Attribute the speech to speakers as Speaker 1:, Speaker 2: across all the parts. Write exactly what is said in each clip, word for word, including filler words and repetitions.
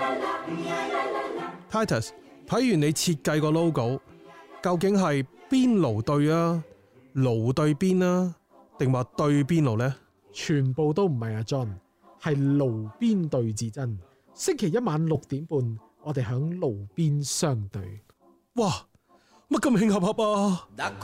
Speaker 1: Titus， 睇完你設計個 logo， 究竟係邊爐對啊？爐對邊啊？定話對邊爐呢？
Speaker 2: 全部都唔係阿 John， 係爐邊對至真。星期一晚六點半，我哋響爐邊相對。
Speaker 1: 哇！乜咁慶合合啊！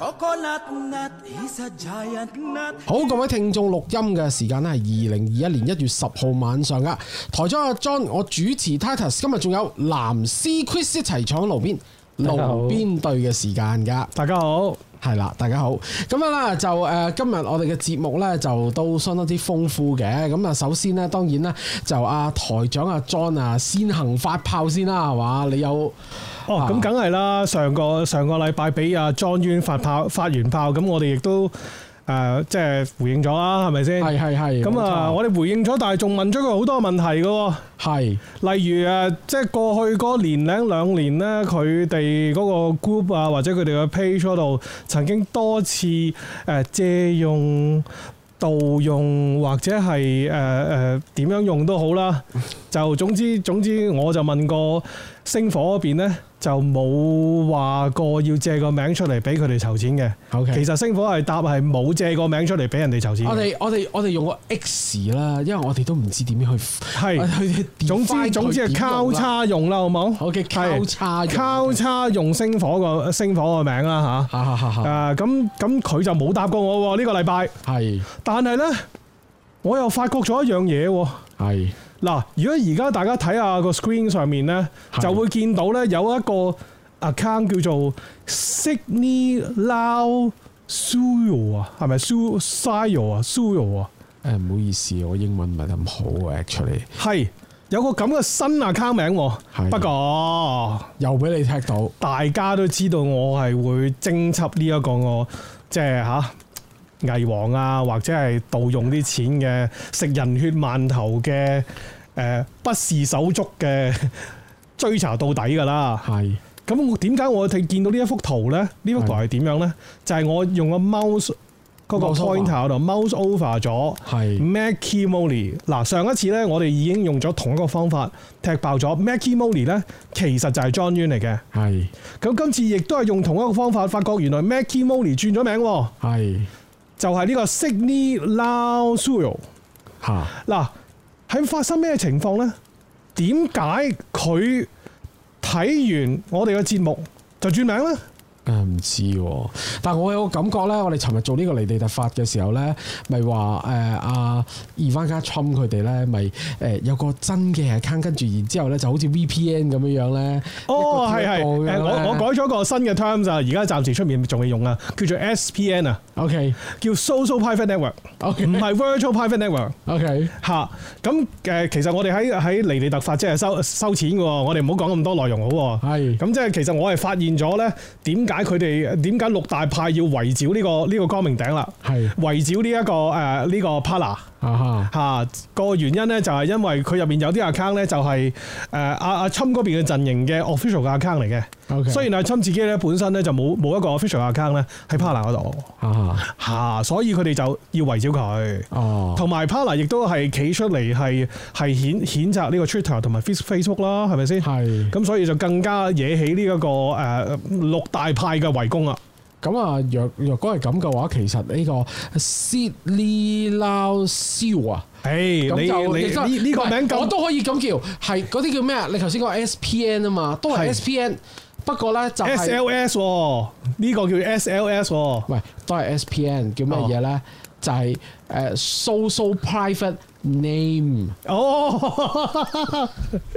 Speaker 2: 好，各位聽眾，錄音嘅時間咧係二零二一年一月十號晚上噶。台長阿 John， 我主持 Titus， 今日仲有藍絲 Chris 一齊坐喺爐邊，爐邊對嘅時間噶。
Speaker 1: 大家好，
Speaker 2: 係啦，大家好。咁樣啦，就誒、呃，今日我哋嘅節目咧就都相當之豐富嘅。咁啊，首先咧，當然咧就阿、啊、台長阿 John 啊，先行發炮先啦，係嘛？你有？
Speaker 1: 哦，咁梗係啦！上個上個禮拜俾阿莊淵發炮發完炮，咁我哋亦都誒、呃、即係回應咗啦，係咪先？係係係。咁啊，我哋回應咗，但係仲問咗佢好多問題嘅喎。係，例如誒，即係過去嗰年零兩年咧，佢哋嗰個 group 啊，或者佢哋嘅 page 嗰度，曾經多次誒借用、盜用或者係誒誒點樣用都好啦。就總之總之，我就問過星火嗰邊咧。就冇話過要借個名出嚟俾佢哋籌錢嘅。Okay. 其實星火係答係冇借個名出嚟俾人哋籌錢。我哋我哋我哋用個 X 啦，因為我哋都唔知點樣去係。總之總之係交叉用啦，好冇？好嘅，交叉交叉用星火個星火個名啦吓。誒咁咁佢就冇答過我喎呢個禮拜。係。但係咧，我又發覺咗一樣嘢喎。係。嗱，如果而家大家睇下個 screen 上面咧，就會見到咧有一個 account 叫做 Sydney Lau Suyo 啊，係咪 Suyo 啊 Suyo 啊？誒唔好意思，我英文唔係咁好啊 actually。係有個咁嘅新 account 名喎，不過又俾你踢到，大家都知道我係會偵緝呢一個我即係嚇偽黃啊，或者係盜用啲錢嘅食人血饅頭嘅。誒、呃、不是手足嘅追查到底㗎啦，係。咁我點解我哋見到呢一幅圖咧？呢幅圖係點樣咧？就係、是、我用個 mouse 嗰個 pointer 度 mouse over 咗 Mackie Molly。嗱，上一次咧，我哋已經用咗同一個方法踢爆咗 Mackie Molly 咧，其實就係莊淵嚟嘅。係。咁今次亦都係用同一個方法，發覺原來 Mackie Molly 轉咗名喎。係。就係、是、呢個 Sydney Lau Suyo。嚇。嗱。喺發生咩情況呢？點解佢睇完我哋嘅節目就轉名呢？誒唔知喎，但係我有個感覺咧，我哋尋日做呢個離地突發嘅時候咧，咪話誒阿 Ivanka Trump 佢哋咧，咪誒有個真嘅 account，跟住然之後咧就好似 V P N 咁樣樣咧。哦，係係，我我改咗個新嘅 terms 啊，而家暫時出面仲未用啊，叫做 S P N 啊。OK， 叫 Social Private Network，OK， 唔係 Virtual Private Network。OK， 嚇，咁誒其實我哋喺喺離地突發即係收收錢嘅喎，我哋唔好講咁多內容好喎。係，咁即係其實我係發現咗咧，點解？解佢哋點解六大派要圍剿呢個呢個光明頂啦？係圍剿呢一個誒呢個 Parler 啊嚇個原因咧，就係因為佢入邊有啲 account 咧，就係誒阿阿侵嗰邊嘅陣營嘅 official 嘅 account 嚟嘅。Okay. 雖然阿侵自己咧本身咧就冇冇一個 official account 咧喺 Parler 嗰度嚇，所以佢哋就要圍剿佢。哦，同埋 Parler 亦都係企出嚟係係譴譴責呢個 Twitter 同埋 Facebook 啦，係咪先？係咁，所以就更加惹起呢一個誒六大派嘅圍攻啊！咁啊，若若果係咁嘅話，其實呢個 Sydney Lau Suyo 啊，誒，你你呢呢個名我都可以咁叫，係嗰啲叫咩啊？你頭先講 S P N 啊嘛，都係 S P N， 不過咧就係 S L S 喎，呢個叫 S L S 喎，喂，都係 S P N， 叫咩嘢咧？就係誒 Social Private Name， 哦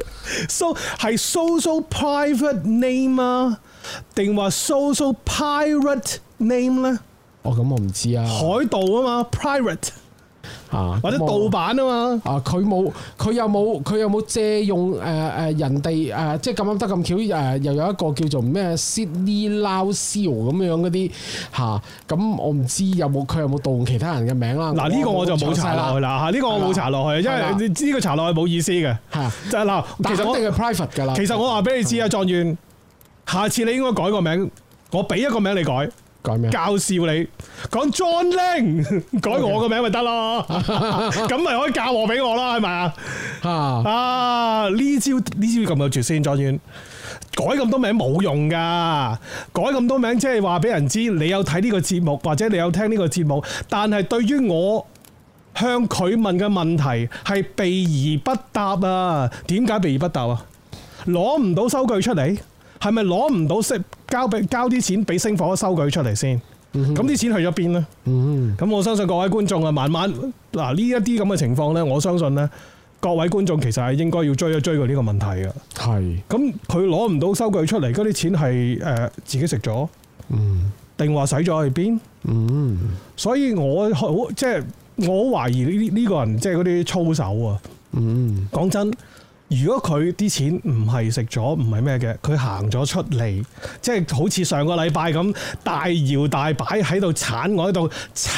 Speaker 1: ，so 係 Social Private Name 啊？定話 social pirate name 咧？哦，咁我唔知啊。海盜啊嘛 ，pirate 啊，或者盜版啊嘛。啊，佢冇，佢有冇，佢有冇借用誒誒、呃、人哋誒、呃，即係咁啱得咁巧誒、呃，又有一個叫做咩 Sydney Lau Suyo 咁樣嗰啲嚇。咁、啊、我唔知有冇佢有冇盜用其他人嘅名啦。嗱，呢個我就冇查落去啦嚇，呢、呢個我冇查落去，因為你知呢個查落去冇意思嘅。係就係嗱，其實我一定係 private 㗎啦。其實我話俾你知啊，狀元。下次你應該改個名，我俾一個名你改，
Speaker 2: 改咩？
Speaker 1: 教笑你講 John Ling， 改我個名咪得咯，咁咪可以教我俾我啦，係咪啊？啊呢招呢招咁有絕先，莊園改咁多名冇用噶，改咁多名即係話俾人知你有睇呢個節目或者你有聽呢個節目，但係對於我向佢問嘅問題係避而不答啊！點解避而不答啊？攞唔到收據出嚟，係咪攞唔到息交俾交啲錢俾星火收據出嚟先？咁啲、嗯、錢去咗邊呢？咁、嗯、我相信各位觀眾啊，慢慢嗱呢一啲咁嘅情況呢，我相信呢，各位觀眾其實係應該要追一追過呢個問題嘅。係。咁佢攞唔到收據出嚟，嗰啲錢係誒、呃、自己食咗，定話使咗去邊？嗯。所以我好即係我好懷疑呢呢個人即係嗰啲操守啊。嗯。講真。如果佢啲錢唔係食咗，唔係咩嘅，佢行咗出嚟，即係好似上個禮拜咁大搖大擺喺度鏟我喺度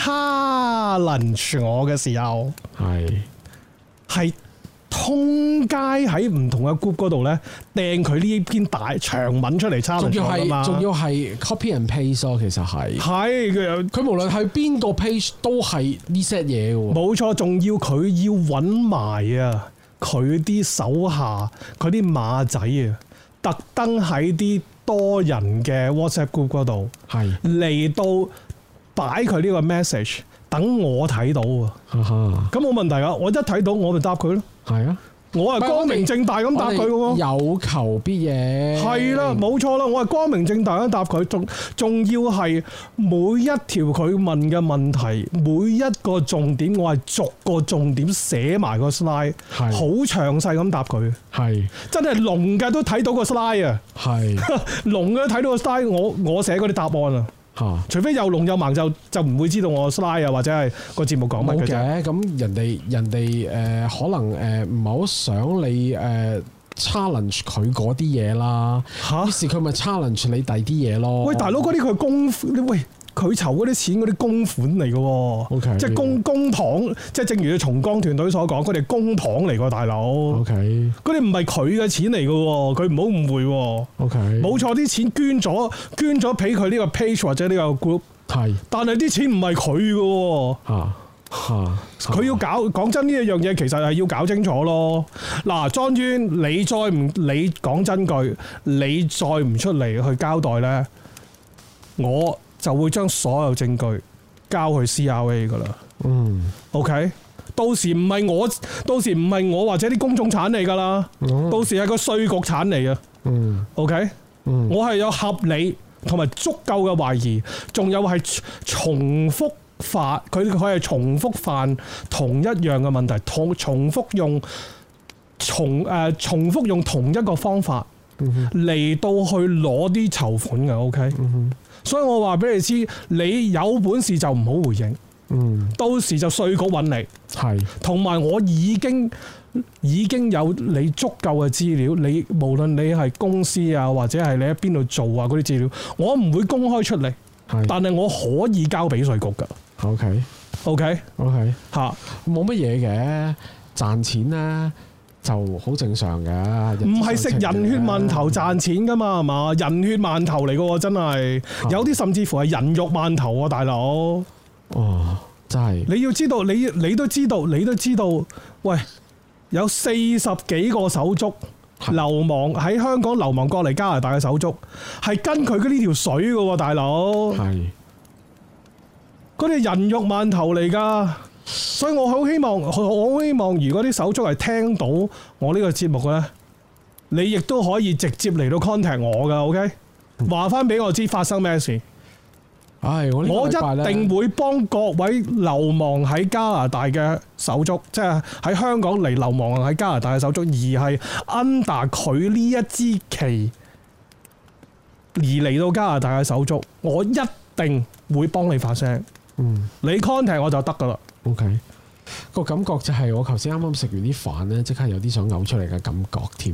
Speaker 1: challenge 我嘅時候，係係通街喺唔同嘅 group 嗰度咧掟佢呢篇大長文出嚟 challenge 我㗎嘛，仲要係 copy and paste 咯，其實係係佢佢無論係邊個 page 都係呢 set 嘢嘅喎，冇錯，仲要佢要揾埋啊！佢啲手下，佢啲馬仔啊，特登喺啲多人嘅 WhatsApp group 嗰度，係嚟到擺佢呢個 message，等我睇到啊。咁冇問題啊，我一睇到我咪答佢咯。係啊。我係光明正大咁答佢嘅喎，有求必應。係啦，冇錯啦，我係光明正大咁答佢，仲仲要係每一條佢問嘅問題，每一個重點，我係逐個重點寫埋個 slide， 好詳細咁答佢。係真係聾嘅都睇到個 slide 啊！係聾嘅都睇到個 slide，我我寫嗰啲答案啊！除非又聾又盲就就唔會知道我 slide 啊，或者係個節目講乜嘅啫。咁人哋人哋誒、呃、可能誒唔係好想你誒、呃、challenge 佢嗰啲嘢啦。嚇！於是佢咪 challenge 你第啲嘢咯。喂，大佬嗰啲佢公喂。佢籌嗰啲錢嗰啲公款嚟嘅喎，okay，即係公公帑，即係正如重光團隊所講，佢哋公帑嚟嘅大佬。OK，嗰啲唔係佢嘅錢嚟嘅喎，佢唔好誤會喎。OK，冇錯，啲錢捐咗捐咗俾佢呢個 page 或者呢個 group， 係，但係啲錢唔係佢嘅喎。嚇嚇，佢要搞講真呢一樣嘢，其實係要搞清楚咯。嗱，莊淵，你再唔你講真句，你再唔出嚟去交代咧，我就會將所有證據交去 C R A 噶啦。嗯 ，OK，到時唔係我，到時唔係我或者啲公眾產嚟噶啦，嗯、到時係個稅局產嚟啊。嗯，OK，嗯，我係有合理同埋足夠嘅懷疑，仲有係重複犯，佢佢係重複犯同一樣嘅問題，同重複用重誒、呃、重複用同一個方法嚟到去攞啲籌款嘅。OK。嗯，所以我話俾你知，你有本事就唔好回應，嗯，到時就稅局揾你，係，同埋我已經已經有你足夠嘅資料，你無論你係公司啊，或者係你喺邊度做啊嗰啲資料，我唔會公開出嚟，係，但係我可以交俾稅局㗎。OK，OK，OK， 嚇，冇乜嘢嘅，賺錢咧就好正常嘅，唔係食人血饅頭賺錢噶嘛，係嘛？人血饅頭嚟嘅喎，真係有啲甚至乎係人肉饅頭啊，大佬。哦，真係。你要知道，你你都知道，你都知道，喂，有四十幾個手足流亡喺香港流亡過嚟加拿大嘅手足，係跟佢嘅呢條水嘅喎，大佬。係。嗰啲人肉饅頭嚟㗎。所以我好希望，我好希望，如果啲手足係聽到我呢個節目嘅咧，你亦都可以直接嚟到 contact 我噶 ，OK？ 話翻俾我知發生咩事。唉，我我一定會幫各位流亡喺加拿大嘅手足，即係喺香港嚟流亡喺加拿大嘅手足，而係 under 佢呢一支旗而嚟到加拿大嘅手足，我一定會幫你發聲。嗯，你 contact 我就得噶啦。OK，個感覺就係我頭先啱啱食完啲飯咧，即刻有啲想嘔出嚟嘅感覺添。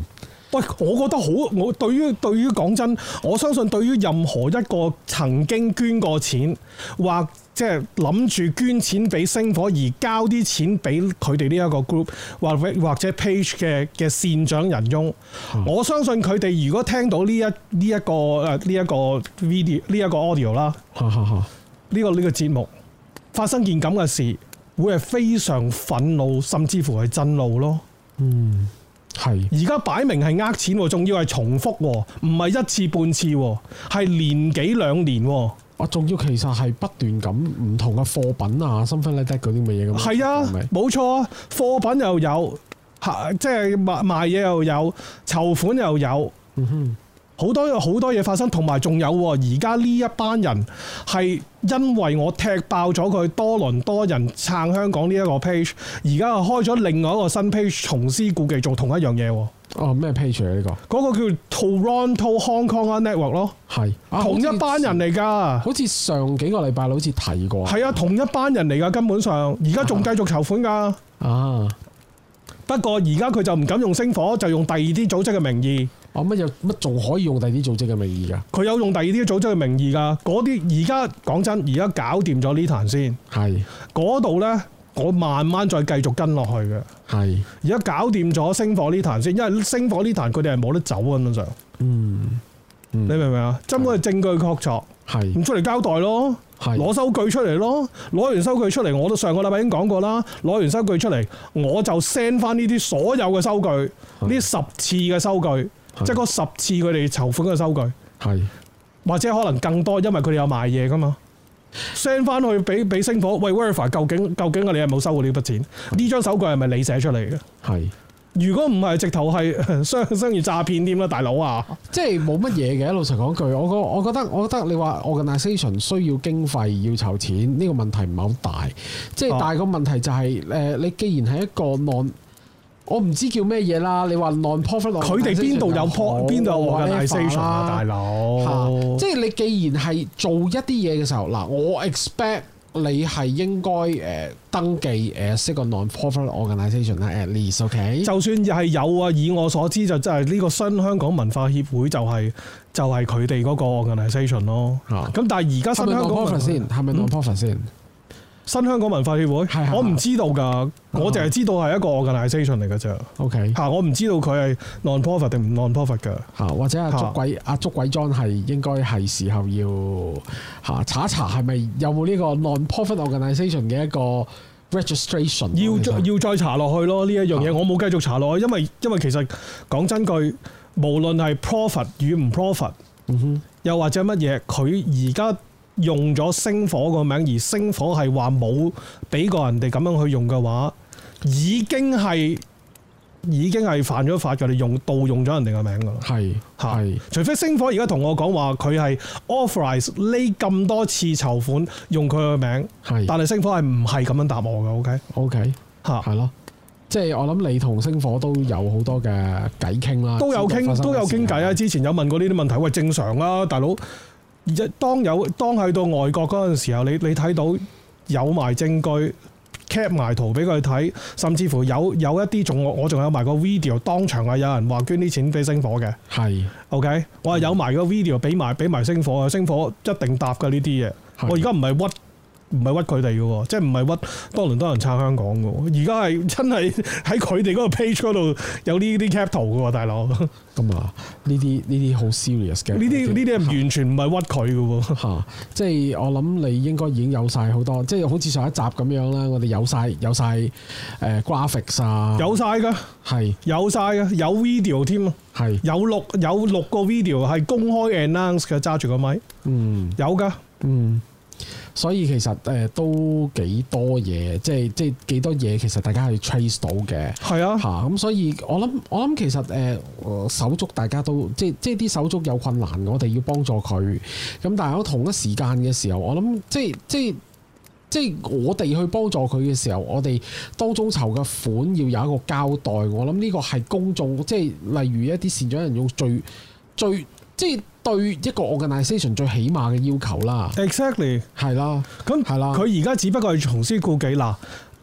Speaker 1: 喂，我覺得好，我對於對於講真，我相信對於任何一個曾經捐過錢或即係諗住捐錢俾星火而交啲錢俾佢哋呢一個 group 或或者 page 嘅嘅善長人翁，嗯、我相信佢哋如果聽到呢一呢一個誒呢一個 video 呢一個 audio 啦，呢、呢個呢、呢個節目發生件咁嘅事，會係非常憤怒，甚至乎係震怒咯。嗯。係，而家擺明係呃錢喎，仲要係重複喎，唔係一次半次喎，係年幾兩年喎。啊，仲要其實係不斷咁唔同嘅貨品啊，something like that嗰啲乜嘢咁。係啊，冇錯，貨品又有，即係賣賣嘢又有，籌款又有。嗯哼。好多好多嘢發生，同埋仲有而家呢一班人係因為我踢爆咗佢多倫多人撐香港呢一個 page，而家開咗另外一個新 page，重施故技做同一樣嘢。哦，咩 page 啊？呢個嗰個叫 Toronto Hong Kong Network 咯，係、啊、同一班人嚟㗎。好似上幾個禮拜好似提過。係啊，同一班人嚟㗎，根本上而家仲繼續籌款㗎。啊，不過而家佢就唔敢用星火，就用第二啲組織嘅名義。哦，乜有乜仲可以用第二啲組織嘅名義㗎？佢有用第二啲組織嘅名義㗎。嗰啲而家講真，而家搞掂咗呢壇先。係嗰度呢，我慢慢再繼續跟落去嘅。係而家搞掂咗星火呢壇先，因為星火呢壇佢哋係冇得走根本上。嗯，嗯，你明唔明啊？根本係證據確鑿。係咁出嚟交代咯。攞收據出嚟咯，攞完收據出嚟，我都上個禮拜已經講過啦。攞完收據出嚟，我就 send 翻呢啲所有嘅收據，呢十次嘅收據。即係嗰十次佢哋籌款嘅收據，係或者可能更多，因為佢哋有賣嘢噶嘛。send 翻去俾俾星火，喂 verify 究竟究竟我哋係冇收過呢筆錢？呢張手據係咪你寫出嚟嘅？係。如果唔係，直頭係商商業詐騙添啦，大佬啊！即係冇乜嘢嘅。老實講句，我覺我覺得我覺得你話 organisation 需要經費要籌錢，呢、呢個問題唔係好大。即係但係個問題就係、是、誒，你既然係一個 non。我唔知叫咩嘢啦，你話 non-profit， 佢哋邊度有 po 邊度有 organisation 啊，大佬？即係你既然係做一啲嘢嘅時候，嗱，我 expect 你係應該誒登記誒識個 non-profit organisation 啦 at least，OK？ 就算係有啊，以我所知就真係呢個新香港文化協會就係就係佢哋嗰個 organisation 咯。咁但係而家新香港文先係咪 non-profit 先？新香港文化協會，是是是我唔知道㗎，我淨係知道係一個 organisation 嚟㗎啫。OK，嚇我唔知道佢係 non-profit 定唔 non-profit 㗎。嚇或者阿捉鬼阿捉鬼莊係應該係時候要嚇查一查係咪有冇呢個 non-profit organisation 嘅一個 registration？要要再查落去咯呢一樣嘢，我冇繼續查落去，因為因為其實講真句，無論係 profit 與唔 profit，嗯哼，又或者乜嘢，佢而家用咗星火個名，而星火係話冇俾過人哋咁樣去用嘅話，已經係已經係犯咗法嘅，你用盜用咗人哋嘅名㗎啦。係係，除非星火而家同我講話佢係 authorize 呢咁多次籌款用佢嘅名，係，但係星火係唔係咁樣答我嘅。OK OK 嚇，係咯，即係我諗你同星火都有好多嘅偈傾啦，都有傾都有傾偈啊！之前有問過呢啲問題，喂，正常啊，大佬。而當有當去到外國嗰陣時候，你你睇到有埋證據 cap 埋圖俾佢睇，甚至乎有有一啲仲我我仲有埋個 video， 當場係有人話捐啲錢俾星火嘅。係 OK， 我係有埋個 video 俾埋俾埋星火啊，星火一定答㗎呢啲嘢。我而家唔係屈。唔係屈佢哋嘅喎，即係唔係屈多倫多人撐香港嘅喎，而家係真係喺佢哋嗰個 page 嗰度有呢啲 cap 圖嘅喎，大佬。咁啊，呢啲呢啲好 serious 嘅。呢啲呢啲係完全唔係屈佢嘅喎。嚇，即係我諗你應該已經有晒好多，即係好似上一集咁樣啦，我哋有晒有晒誒 graphics 啊，有晒㗎，係有晒嘅，有 video 添啊，係有六有六個 video 係公開 announce 嘅，揸住個咪，嗯，有㗎，嗯。所以其實誒、呃、都幾多嘢，即係即係幾多嘢，其實大家係 trace 到嘅。係啊，嚇咁、啊、所以我諗我諗其實誒、呃、手足大家都即係即係啲手足有困難，我哋要幫助佢。咁但係喺同一時間嘅時候，我諗即係即係即係我哋去幫助佢嘅時候，我哋當中籌嘅款要有一個交代。我諗呢個係公眾，即係例如一啲善長人用最最即係。對一個 organisation 最起碼嘅要求啦 ，exactly 係啦，咁係啦，佢而家只不過係重施故技嗱，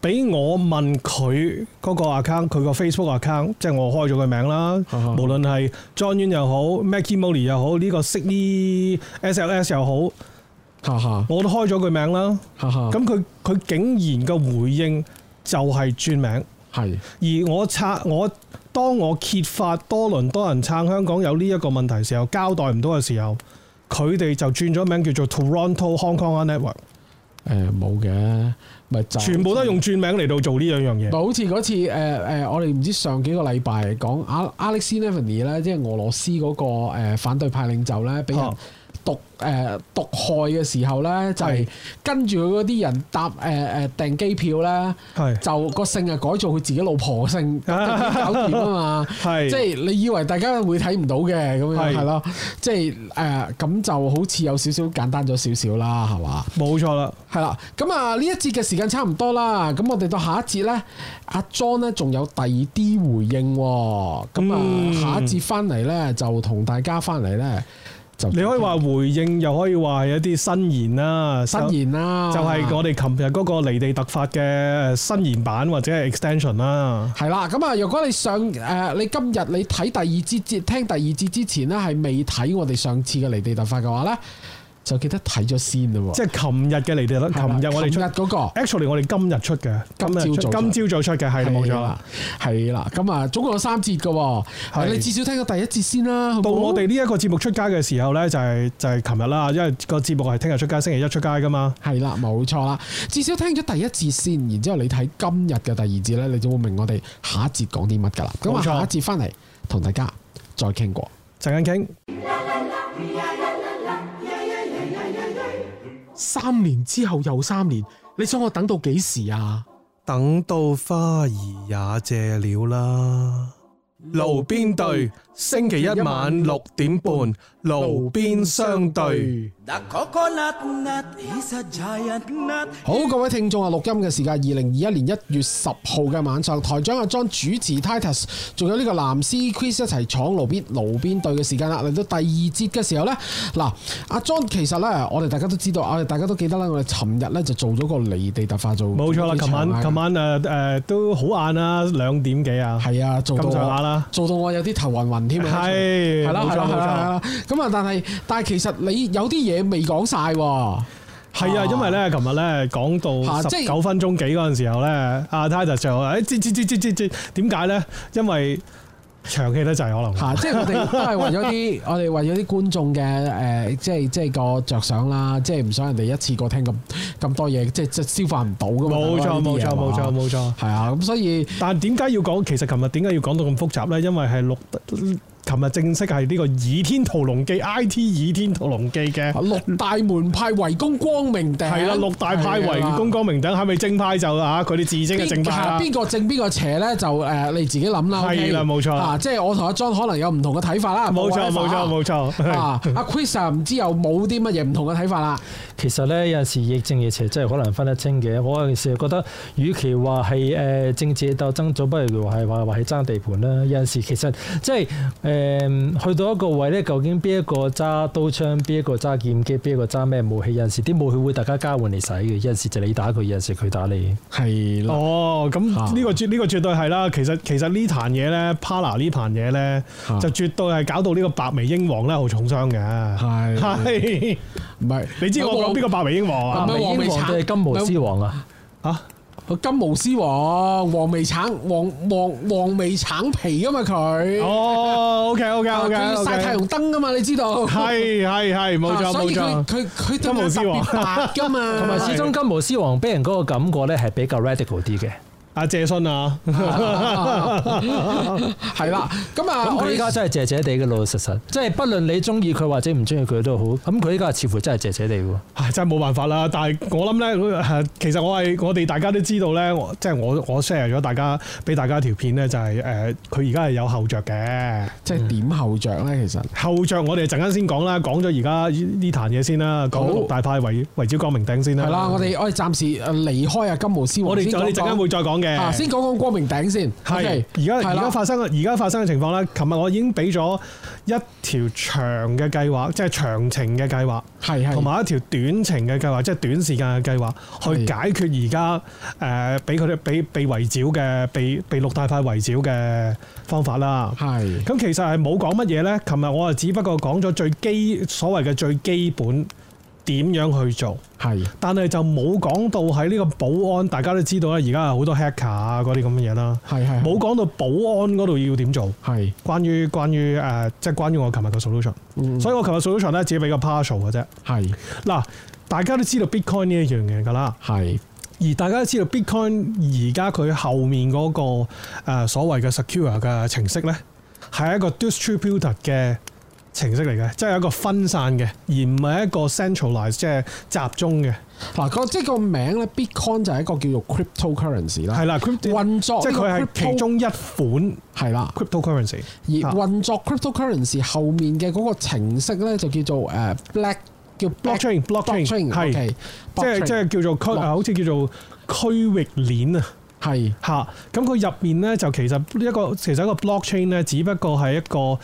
Speaker 1: 俾我問佢嗰個 account，佢個 Facebook account， 即係我開咗佢名啦。無論係 John Yuen 又好 Mackie Molly 又好，呢、這個 Sydney S L S 又好，我都開咗佢名啦。咁佢佢竟然個回應就係轉名。係，而我拆我當我揭發多倫多人撐香港有呢一個問題時候，交代唔到嘅時候，佢哋就轉咗名叫做 Toronto Hong Kong Network。
Speaker 2: 誒冇嘅，咪就
Speaker 1: 全部都係用轉名嚟到做呢兩樣嘢。
Speaker 2: 咪好似嗰次誒誒、呃，我哋唔知上幾個禮拜講 Alexei Navalny 咧，即係俄羅斯嗰個誒反對派領袖咧，俾人毒誒毒害嘅時候咧，就係、是、跟住佢嗰啲人搭誒誒訂機票咧，就個姓啊改做佢自己老婆嘅姓，搞掂啊嘛，即係你以為大家會睇唔到嘅咁樣係咯，即係誒咁就好似有少少簡單咗少少啦，係嘛？冇錯啦，係啦，咁啊呢一節嘅時間差唔多啦，咁我哋到下一節咧，阿 John 咧仲有第二啲回應，咁啊、嗯、下一節翻嚟咧就同大家翻嚟咧。你可以話回應，又可以話係一啲新言啦，新言啦，就係、是、我哋琴日嗰個離地特發嘅新言版或者係 extension 啦。係啦，咁啊，如果你上誒，你今日你睇第二節節，聽第二節之前呢，係未睇我哋上次嘅離地特發嘅話咧，就記得睇咗先咯。即係琴日嘅離地特，琴日我哋出嗰、那個 ，actually 我哋今日出嘅，今朝早，今朝早出嘅，係冇錯啦，係啦。咁啊，總共有三節嘅，係你至少聽過第一節先啦。到我哋呢一個節目出街嘅時候咧，就係、是、就係琴日啦，因為個節目係聽日出街，星期一出街噶嘛。係啦，冇錯啦。至少聽咗第一節先，然之後你睇今日嘅第二節咧，你就會明我哋下一節講啲乜噶啦。咁啊，下一節翻嚟同大家再傾過，陣間傾。三年之後又三年，你想我等到幾時啊？等到花兒也謝了啦。路邊對，星期一晚六點半，路邊相對。好，各位聽眾啊，錄音嘅時間二零二一年一月十號嘅晚上，台長阿 John 主持 Titus， 仲有呢個藍絲 Chris 一齊闖路邊路邊對嘅時間啦。嚟到第二節嘅時候呢，嗱，阿 John 其實呢，我哋大家都知道，我哋大家都記得啦，我哋尋日呢就做咗個離地特化做，冇錯啦。琴晚琴晚誒誒、呃、都好晏啊，兩點幾啊，係啊，做到咁上下啦，做到我有啲頭暈暈添啊，係係啦係啦係啦，咁啊但係但係其實你有啲嘢未講晒喎。係啊，因為咧，琴日咧講到十九分鐘幾嗰陣時候咧，阿 Titus 就話：誒，知知知知知知，點解咧？因為長氣得滯，可能嚇，即係我哋都係為咗啲，我哋為咗啲觀眾嘅誒，即係即係個着想啦，即係唔想人哋一次過聽咁咁多嘢，即係即係消化唔到噶嘛。冇錯，冇錯，冇錯，冇錯。係啊，咁所以，但係點解要講？其實琴日點解要講到咁複雜咧？因為係錄。琴日正式係呢個《倚天屠龍記》I T《倚天屠龍記》嘅六大門派圍攻光明頂。係啦，六大派圍攻光明頂，係咪正派就啊？佢哋自稱嘅正派啦。邊個正邊個邪咧？就誒你自己諗啦。係啦，冇錯。啊，即係我同阿 John 可能有唔同嘅睇法啦。冇錯，冇錯，冇錯。啊，阿 Chris 唔知有冇啲乜嘢唔同嘅睇法啦。其實咧有陣時亦正亦邪真係好難分得清嘅。我有陣時覺得，與其話係誒政治鬥爭，總不如話係話話係爭地盤啦。有陣時其實即係誒。誒去到一個位咧，究竟邊一個揸刀槍，邊一個揸劍擊，邊一個揸咩武器？有陣時啲武器會大家交換嚟使嘅，有陣時就你打佢，有陣時佢打你。係啦。哦，咁呢、呢個絕呢、呢個絕對係啦。其實其實呢壇嘢咧 Parler 呢壇嘢咧，就絕對係搞到呢個白眉鷹王咧好重傷嘅。係係唔係？你知我講邊個白眉鷹王啊？白眉鷹王定係金毛獅王啊？嚇！金毛獅王，黃眉橙，黃黃黃眉橙皮噶嘛佢。哦 ，OK OK OK， 佢曬太陽燈噶嘛，你知道？係係係，冇錯冇錯。所以佢佢佢金毛獅王白噶嘛。同埋始終金毛獅王俾人嗰個感覺咧係比較 radical 啲嘅。阿謝勳啊，係啦，咁啊，咁佢依家真係謝謝地嘅老老實實，即係不論你中意佢或者唔中意佢都好，咁佢依家似乎真係謝謝地喎。係真係冇辦法啦，但係我諗咧，其實我係我哋大家都知道咧，即係我我 share 咗大家俾大家條片咧，就係誒佢而家係有後着嘅，即係點後着咧？其實後着我哋陣間先講啦，講咗而家呢壇嘢先啦，講六大派圍圍剿光明頂先啦。係啦，我哋我哋暫時誒離開啊金毛獅王，我哋我哋陣間會再講。
Speaker 1: 嘅。
Speaker 2: 先講講光明頂先。
Speaker 1: 係而家而家發生而家發生嘅情況咧，琴日我已經俾咗一條長嘅計劃，即係長程嘅計劃，係係，同埋一條短程嘅計劃，即係短時間嘅計劃，去解決而家誒俾佢哋俾被圍剿嘅被被陸大派圍剿嘅方法啦。係咁，其實係冇講乜嘢咧。琴日我啊只不過講咗最基所謂嘅最基本。點樣去做？係，但係就冇講到喺呢個保安，大家都知道咧，而家有好多 hacker 啊嗰啲咁嘅嘢啦。係係，冇講到保安嗰度要點做。係，關於關於誒，即、呃、係、就是、關於我琴日嘅 solution、嗯。所以我琴日 solution 咧，只係比較 partial 嘅啫。係，嗱，大家都知道 Bitcoin 呢一樣嘢㗎啦。係，而大家都知道 Bitcoin 而家佢後面嗰、那個、呃、所謂嘅 secure 嘅程式咧，係一個 distributed 嘅程式嚟嘅，即係一個分散嘅，而唔係一個 centralized 即係集中嘅。嗱，個即係個名咧 ，Bitcoin 就係一個叫做 cryptocurrency 啦。係啦，運作即係佢係其中一款係啦 cryptocurrency。而運作 cryptocurrency 後面嘅嗰個程式咧，就叫做誒 black 叫 blockchain，blockchain 係即係即係叫做區，好似叫做區域鏈啊。係嚇，咁佢入面咧就其實一個其實一個 blockchain 咧，只不過係一個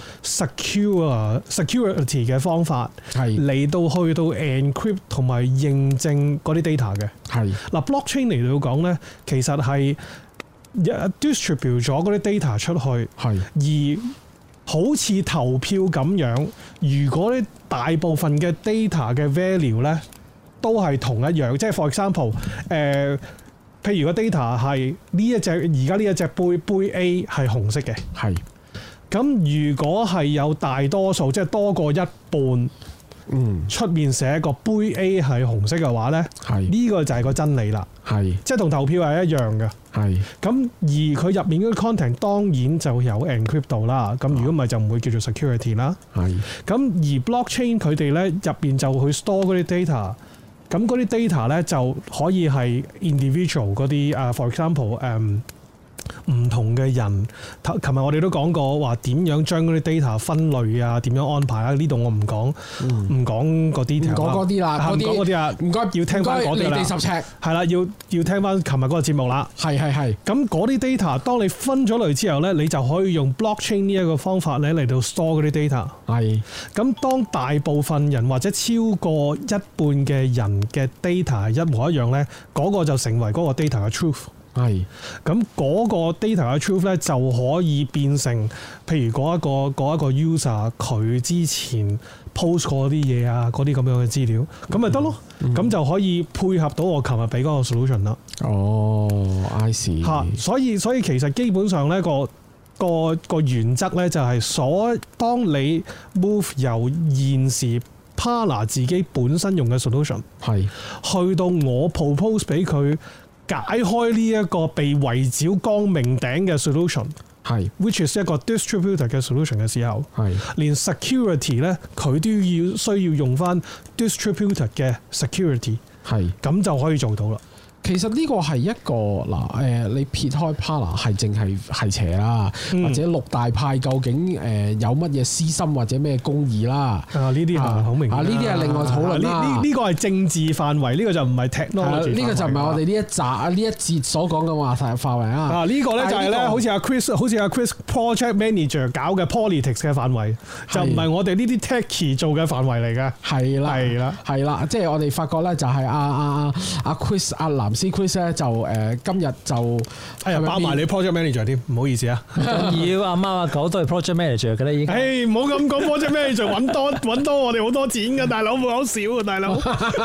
Speaker 1: secure security 嘅方法，係嚟到去到 encrypt 同埋認證嗰啲 data 嘅。係嗱 blockchain 嚟到講咧，其實係 distribute 咗嗰啲 data 出去，係而好似投票咁樣，如果啲大部分嘅 data 嘅 value 咧都係同一樣，即係 for example 誒、呃。譬如個 data 係呢一隻而家呢一隻杯杯 A 係紅色嘅，係咁如果係有大多數即係多過一半，嗯，出面寫個杯 A 係紅色嘅話咧，係呢、呢個就係個真理啦，係即係同投票係一樣嘅，係咁而佢入面嗰啲 content 當然就有 encrypt 到啦，咁如果唔係就唔會叫做 security 啦，係咁而 blockchain 佢哋咧入面就去 store 嗰啲 data。咁嗰啲 data 咧就可以係 individual 嗰啲啊 for example 誒、um, 唔同嘅人。琴日我哋都講過話點樣將嗰啲 data 分類啊，點樣安排啊？呢度我唔講，唔講個 detail。唔講嗰啲啦，唔講嗰啲啊，唔該要聽翻嗰啲啦。離地十尺係啦，要要聽翻琴日嗰個節目啦。係係係。咁嗰啲 data，當你分咗類之後咧，你就可以用 blockchain 呢一個方法咧嚟到 store 嗰啲 data。係。咁當大部分人或者超過一半嘅人嘅 data 係一模一樣咧，嗰、嗰個就成為嗰個 data 嘅 truth。係，咁嗰個 data 嘅 truth 咧就可以變成，譬如嗰一個嗰一個 user 佢之前 post 過啲嘢啊，嗰啲咁樣嘅資料，咁咪得咯，咁、嗯、就可以配合到我琴日俾嗰個 solution 啦。哦 I see。嚇，所以所以其實基本上咧個個個原則咧就係所當你 move 由現時 Parler 自己本身用嘅 solution 係去到我 propose 俾佢。解開呢一個被圍剿光明頂嘅 solution， 係 which is 一個 distributed 嘅 solution 嘅時候，係連 security 咧佢都要需要用翻 distributed 嘅 security， 係咁就可以做到啦。其實呢個係一個嗱誒，你撇開 Parler 係淨係係邪啦，嗯、或者六大派究竟誒有乜嘢私心或者咩公義啦？啊，呢啲係好明啊！呢啲係另外討論啦。呢呢個係政治範圍，呢、呢個就唔係 technology。呢個就唔係我哋呢一集啊呢一節所講嘅話題範圍啊。啊，呢個咧就係咧，好似阿 Chris，好似阿 Chris project manager 搞嘅 politics 嘅範圍，就唔係我哋呢啲 techie 做嘅範圍嚟嘅。係啦，係啦，係啦，即係我哋發覺咧，就係阿阿阿阿 Chris 阿藍絲 Chris 咧就誒、呃、今日就哎呀包埋你 project manager 添，唔好意思啊。要阿貓阿狗都係 project manager 嘅啦，已經。誒唔好咁講 project manager 揾多揾多我哋好多錢㗎，大佬冇好少啊，大佬。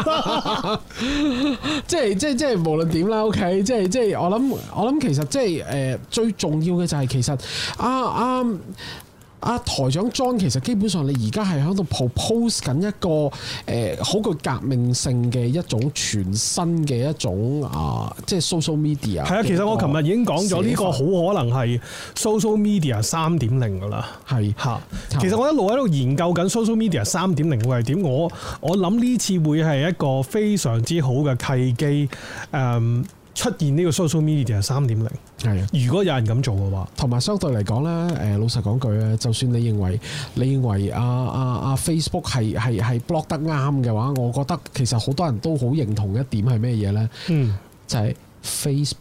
Speaker 1: 即係即係即係無論點啦 ，OK，即係即係我諗我諗其實即係誒最重要嘅就係其實啊啊。啊，台長 John 其實基本上你而家係喺度 propose 緊一個誒好具革命性嘅一種全新嘅一種啊，即係 social media。係啊，其實我琴日已經講咗呢個好可能係 social media 三點零㗎啦。係嚇，其實我一路喺度研究緊 social media 三點零會係點。我我諗呢次會係一個非常之好嘅契機，誒、嗯。出現呢個 social media 三點零，係啊！如果有人咁做嘅話，同埋相對嚟講咧，誒老實講句咧，就算你認為你認為啊啊啊 Facebook 係係係 block 得啱嘅話，我覺得其實好多人都好認同一點係咩嘢咧？嗯，就係、是、Facebook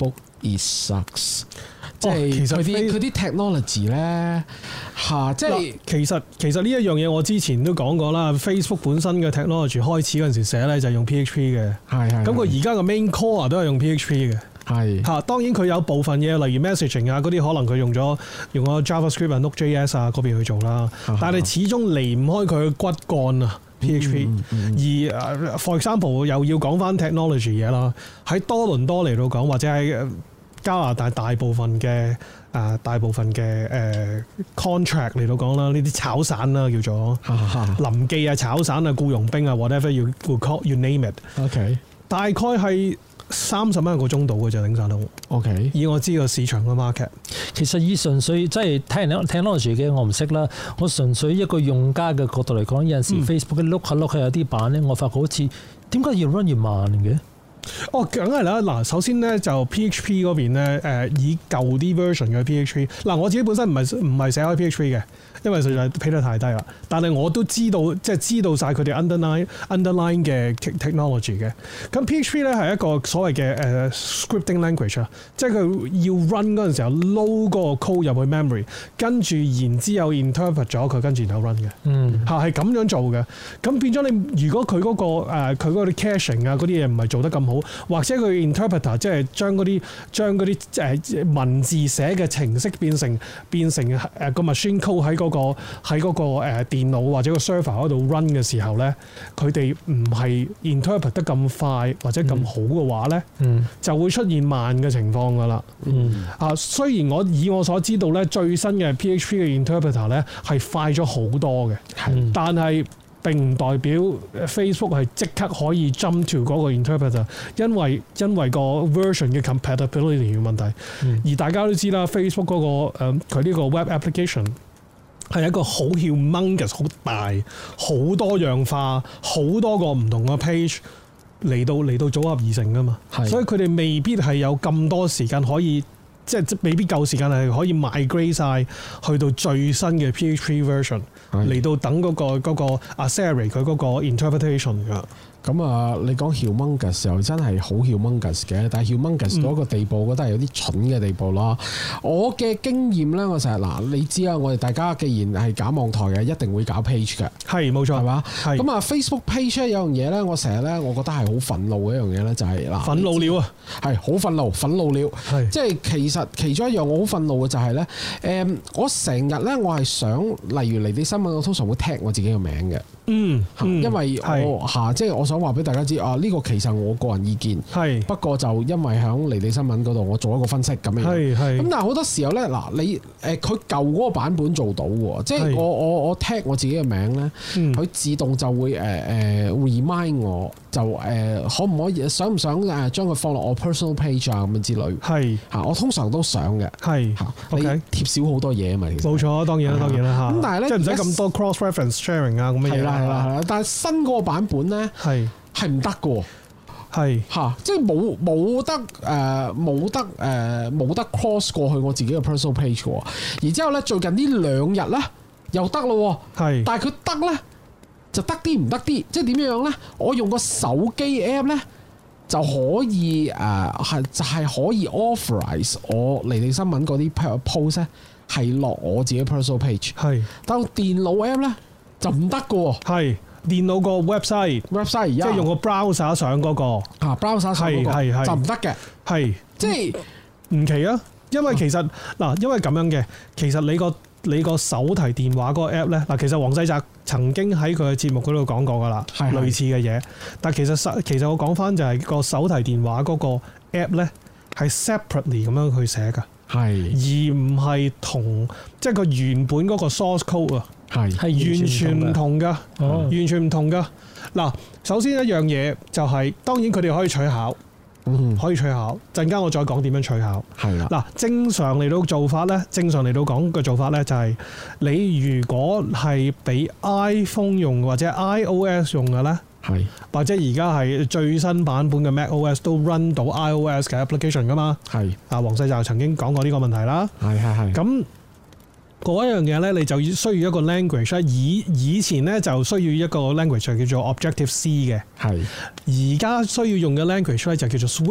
Speaker 2: It sucks。即係佢啲佢啲 technology 咧嚇，即係
Speaker 1: 其實其實呢一樣嘢我之前都講過啦。Facebook 本身嘅 technology 開始嗰陣時寫咧就係用 P H P 嘅，係係。咁佢而家嘅 main core 都係用 P H P 嘅，係嚇。當然佢有部分嘢，例如 messaging 啊嗰啲，可能佢用咗用咗 JavaScript 啊、Node.js 啊嗰邊去做啦。但係始終離唔開佢嘅骨幹啊 ，P H P。嗯嗯嗯、而 for example 又要講翻 technology 嘢啦，喺多倫多嚟到講，或者喺加拿大大部分嘅啊大部分嘅誒、呃、contract 嚟到講啦，呢啲炒散啦叫做臨記啊、炒散啊、僱傭兵啊 whatever you will call you name it。OK， 大概係三十蚊一個鐘度嘅就頂晒到。OK， 以我知個市場嘅 market，
Speaker 3: 其實以純粹即係聽人 technology 嘅我唔識啦，我純粹一個用家嘅角度嚟講，有陣時 Facebook 嘅 look 下 look 下有啲版咧，我發覺好似點解越 run 越慢嘅？
Speaker 1: 哦，梗係啦！嗱，首先咧就 P H P 嗰邊咧，誒以舊啲 version 嘅 P H P， 嗱我自己本身唔係唔係寫開 P H P 嘅，因為實在 pay 得太低啦。但係我都知道，即係知道晒佢哋 underline underline 嘅 technology 嘅。咁 P H P 咧係一個所謂嘅誒、uh, scripting language 啊，即係佢要 run 嗰陣時候 load 嗰個 code 入去 memory， 跟住然之後 interpret 咗佢，跟住然後 run 嘅。嗯，嚇係咁樣做嘅。咁變咗你，如果佢嗰、嗰個誒佢嗰啲 caching 啊嗰啲嘢唔係做得咁好，或者佢 interpreter 即係將嗰啲將嗰啲誒文字寫嘅程式變成變成誒個 machine code 喺嗰個喺嗰個誒電腦或者個 server 嗰度 run 嘅時候咧，佢哋唔係 interpret 得咁快或者咁好嘅話咧，嗯、就會出現慢嘅情況噶啦。嗯、啊，雖然我以我所知道咧，最新嘅 P H P 嘅 interpreter 咧係快咗好多嘅，嗯、但係並唔代表 Facebook 係即刻可以 jump to 嗰個 interpreter， 因為因為個 version 嘅 compatibility 嘅問題。嗯、而大家都知啦 ，Facebook 嗰、嗰個誒佢呢個 web application 係一個好 humongous、好大、好多樣化、好多個唔同嘅 page 嚟到嚟到組合而成噶嘛。所以佢哋未必係有咁多時間可以。即係未必夠時間係可以 migrate 晒去到最新嘅 P H P version 嚟到等嗰、嗰個嗰、嗰個 accelerate 佢嗰個 interpretation 㗎。咁啊，你講 humongous 又真係好 humongous 嘅，但係 humongous 到一個地步，我覺得係有啲蠢嘅地步啦。我嘅經驗咧，我成日嗱，你知啊，我哋大家既然係搞網台嘅，一定會搞 page 嘅，係冇錯，係嘛？係咁啊 ，Facebook page 咧有樣嘢咧，我成日咧，我覺得係好憤怒嘅一樣嘢咧，就係、是、嗱，憤怒了啊，係好憤怒，憤怒了，係即係其實其中一樣我好憤怒嘅就係、是、咧，誒、嗯，我成日咧，我係想，例如離地新聞，我通常會 tag 我自己嘅名嘅。嗯，因為我嚇，即係我想話俾大家知啊，呢個其實我個人意見，係不過就因為喺離地新聞嗰度，我做一個分析咁樣，係係。咁但係好多時候咧，嗱你誒佢舊嗰個版本做到喎，即係我我我 tag 我自己嘅名咧，佢自動就會誒誒 remind 我，就誒可唔可以想唔想誒將佢放落我 personal page 啊咁樣之類，係嚇，我通常都想嘅，係嚇，你貼少好多嘢啊嘛，其實冇錯，當然啦，當然啦嚇。咁但係咧，即係唔使咁多 cross reference sharing 啊咁嘅嘢。係啦係啦，但係新嗰個版本咧係係唔得嘅，係嚇，即係冇冇得誒冇得誒冇得 cross 過去我自己嘅 personal page 嘅。然之後咧，最近呢兩日咧又得咯，係，但係佢得咧就得啲唔得啲，即係點樣咧？我用個手機 app 咧就可以誒係就係可以 authorize 我離地新聞嗰啲 post 咧係落我自己 personal page，係，但係電腦 app 咧就唔得嘅，係。電腦個 website，website 即係用個 browser 上嗰個啊 browser 上嗰個就唔得嘅，係即係唔奇啊！因為其實嗱、啊，因為咁樣嘅，其實你個你個手提電話嗰個 app 咧，嗱，其實黃世澤曾經喺佢嘅節目嗰度講過噶啦，係類似嘅嘢。但其實其實我講翻就係個手提電話嗰個 app 咧，係 separately 咁樣去寫噶，係而唔係同即係個原本嗰個 source code 啊。係係完全唔同噶，完全唔同噶。嗱，首先一樣嘢就係、是，當然佢哋可以取巧，嗯、可以取巧。陣間我再講點樣取巧。係啦。嗱，正常嚟到做法咧，正常嚟到講嘅做法咧，就係你如果係俾 iPhone 用或者 iOS 用嘅咧，係或者而家係最新版本嘅 macOS 都 run 到 iOS 嘅 application 噶嘛。係。啊，黃世澤曾經講過呢個問題啦。係係係。咁嗰一樣嘢咧，你就需要一個 language 咧。以以前咧就需要一個 language 就叫做 Objective C 嘅。係。而家需要用嘅 language 咧就叫做 Swift。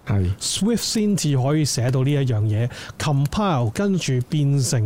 Speaker 2: 係
Speaker 1: Swift 先至可以寫到呢一樣嘢 compile 跟住變成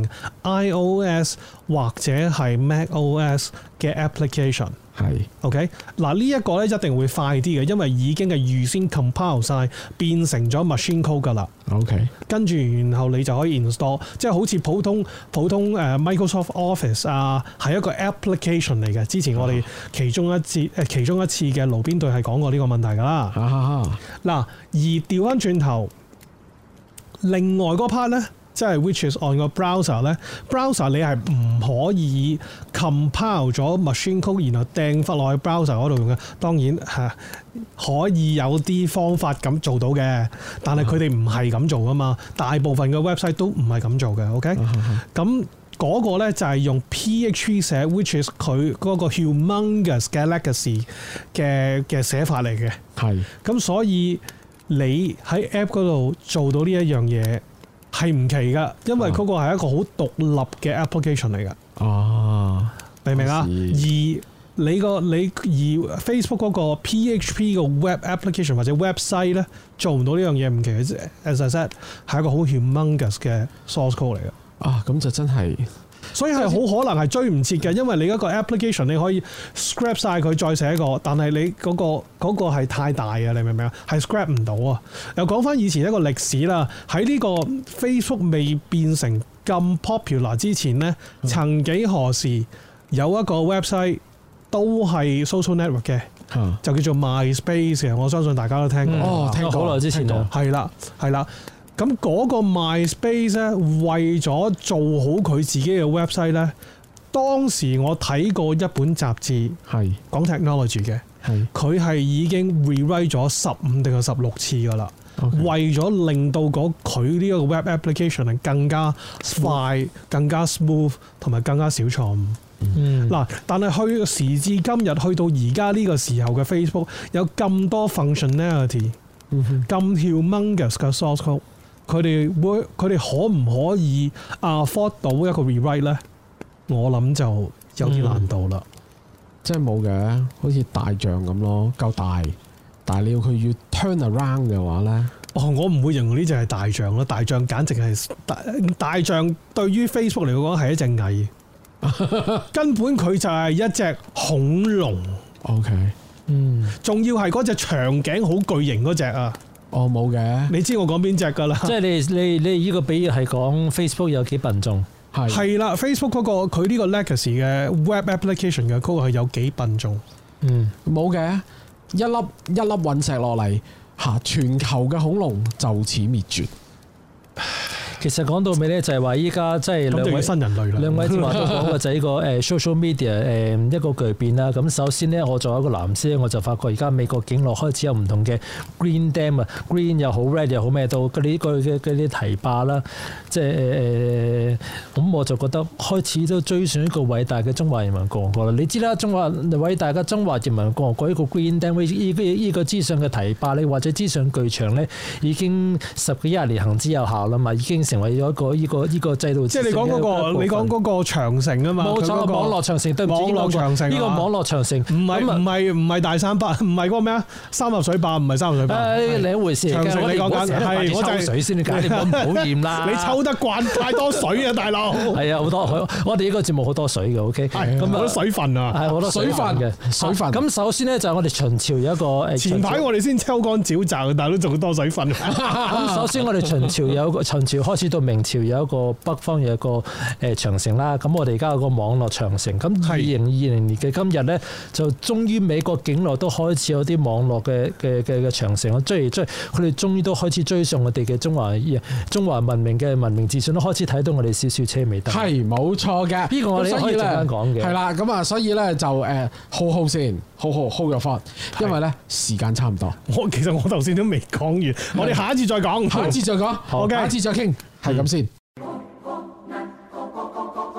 Speaker 1: iOS 或者係 macOS 嘅 application。
Speaker 2: 係
Speaker 1: OK 嗱，呢一個咧一定會快啲嘅，因為已經係預先 compile 晒變成咗 machine code 㗎啦。
Speaker 2: OK，
Speaker 1: 跟住然後你就可以 install，即係好似普通普通誒 Microsoft Office 啊，係一個 application 嚟嘅。之前我哋其中一次誒其中一次嘅爐邊對係講過呢個問題㗎啦。嗱、啊，而調翻轉頭，另外嗰 part 咧。即係 which is on 個 browser 咧 ，browser 你係唔可以 compile 咗 machine code，然後掟翻落去 browser 嗰度用嘅。當然係、啊、可以有啲方法咁做到嘅，但係佢哋唔係咁做噶嘛。大部分嘅 website 都唔係咁做嘅。OK，咁嗰個咧就係用 P H P 寫 ，which is 佢嗰個 humongous 嘅 legacy 嘅嘅寫法嚟嘅。係。咁所以你喺 app 嗰度做到呢一樣嘢。係唔奇噶，因為嗰個係一個好獨立嘅 application 嚟噶。哦，明唔明啊？而你個你而 Facebook 嗰個 P H P 嘅 web application 或者 website 咧，做唔到呢樣嘢唔奇嘅。As I said，係一個好 humongous 嘅 source code 嚟嘅。啊，咁就真係，所以係好可能係追唔切嘅，因為你一個 application 你可以 scrap 晒佢再寫一個，但係你嗰個嗰個係太大啊！你明唔明啊？係 scrap 唔到啊！又講翻以前一個歷史啦，喺呢個 Facebook 未變成咁 popular 之前呢，嗯、曾幾何時有一個 website 都係 social network 嘅、嗯，就叫做 MySpace 嘅。我相信大家都聽過。嗯、哦，聽過好耐之前就係啦，係啦。咁嗰個 MySpace 咧，為咗做好佢自己嘅 website 咧，當時我睇過一本雜誌，係講 technology 嘅，佢係已經 rewrite 咗十五定係十六次噶啦，okay. 為咗令到嗰佢呢個 web application 係更加快、smooth. 更加 smooth 同埋更加少錯誤。嗱、嗯，但係去時至今日，去到而家呢個時候嘅 Facebook 有咁多 functionality，咁、嗯、humongous 嘅 source code。佢哋會，佢哋可唔可以 afford 到一個 rewrite 咧？我諗就有啲難度啦、嗯。即係冇嘅，好似大象咁咯，夠大，但係你要佢要 turn around 嘅話咧，哦，我唔會形容呢隻係大象咯。大象簡直係大大象，對於 Facebook 嚟講係一隻蟻，根本佢就係一隻恐龍。OK， 嗯，仲要係嗰隻長頸好巨型嗰隻啊！哦，冇嘅，你知我講邊隻㗎啦？即係你你你呢個比喻係講 Facebook 有幾笨重？係係啦 ，Facebook 嗰、嗰個佢呢個 legacy 嘅 web application 嘅 code 係有幾笨重？嗯，冇嘅，一粒一粒隕石落嚟嚇，全球嘅恐龍就此滅絕。其實講到尾咧，就係話依家即係兩位新人類啦。兩位之話都講嘅就係呢個誒 social media 誒一個巨變啦。咁首先咧，我作為一個藍絲，我就發覺而家美國境內開始有唔同嘅 green dam 啊 ，green 又好 red 又好咩都嗰啲個嘅嗰啲堤壩啦。即係誒誒，咁我就覺得開始都追上一個偉大嘅中華人民共和國啦。你知啦，中華偉大嘅中華人民共和國呢個 green dam 呢個呢個之上嘅堤壩咧，或者之上巨場咧，已經十幾廿年行之有效啦嘛，已經成為咗一個依個依個制度。即係你講嗰個，你講嗰個長城啊嘛。冇錯，網絡長城對唔住。網絡長城。呢個網絡長城。唔係唔係唔係大三巴，唔係嗰個咩啊？三峽水壩唔係三峽水壩。誒，另一回事。長城你講緊係我就係水先，你解你唔好厭啦。你抽得慣太多水啊，大佬。係啊，好多我哋呢個節目好多水嘅，OK。係。咁好多水分啊。係好多水分嘅水分。咁首先咧就係我哋秦朝有一個誒。前排我哋先抽乾沼澤，但係都仲好多水分。咁首先我哋秦朝有一個秦朝開始到明朝有一個北方有一個誒長城啦，咁我哋而家有個網絡長城，咁二零二零年嘅今日咧，就終於美國境內都開始有啲網絡嘅嘅嘅嘅長城，即係即係佢哋終於都開始追上我哋嘅中華中華文明嘅文明自信，都開始睇到我哋少少車尾燈。係冇錯嘅，呢個我哋可以陣間講嘅。係啦，咁啊，所以咧就誒好好先，好好 hold 咗翻，因為咧時間差唔多。我其實我頭先都未講完，我哋下一次再講，下一次再講，好，下一次再傾，係咁先。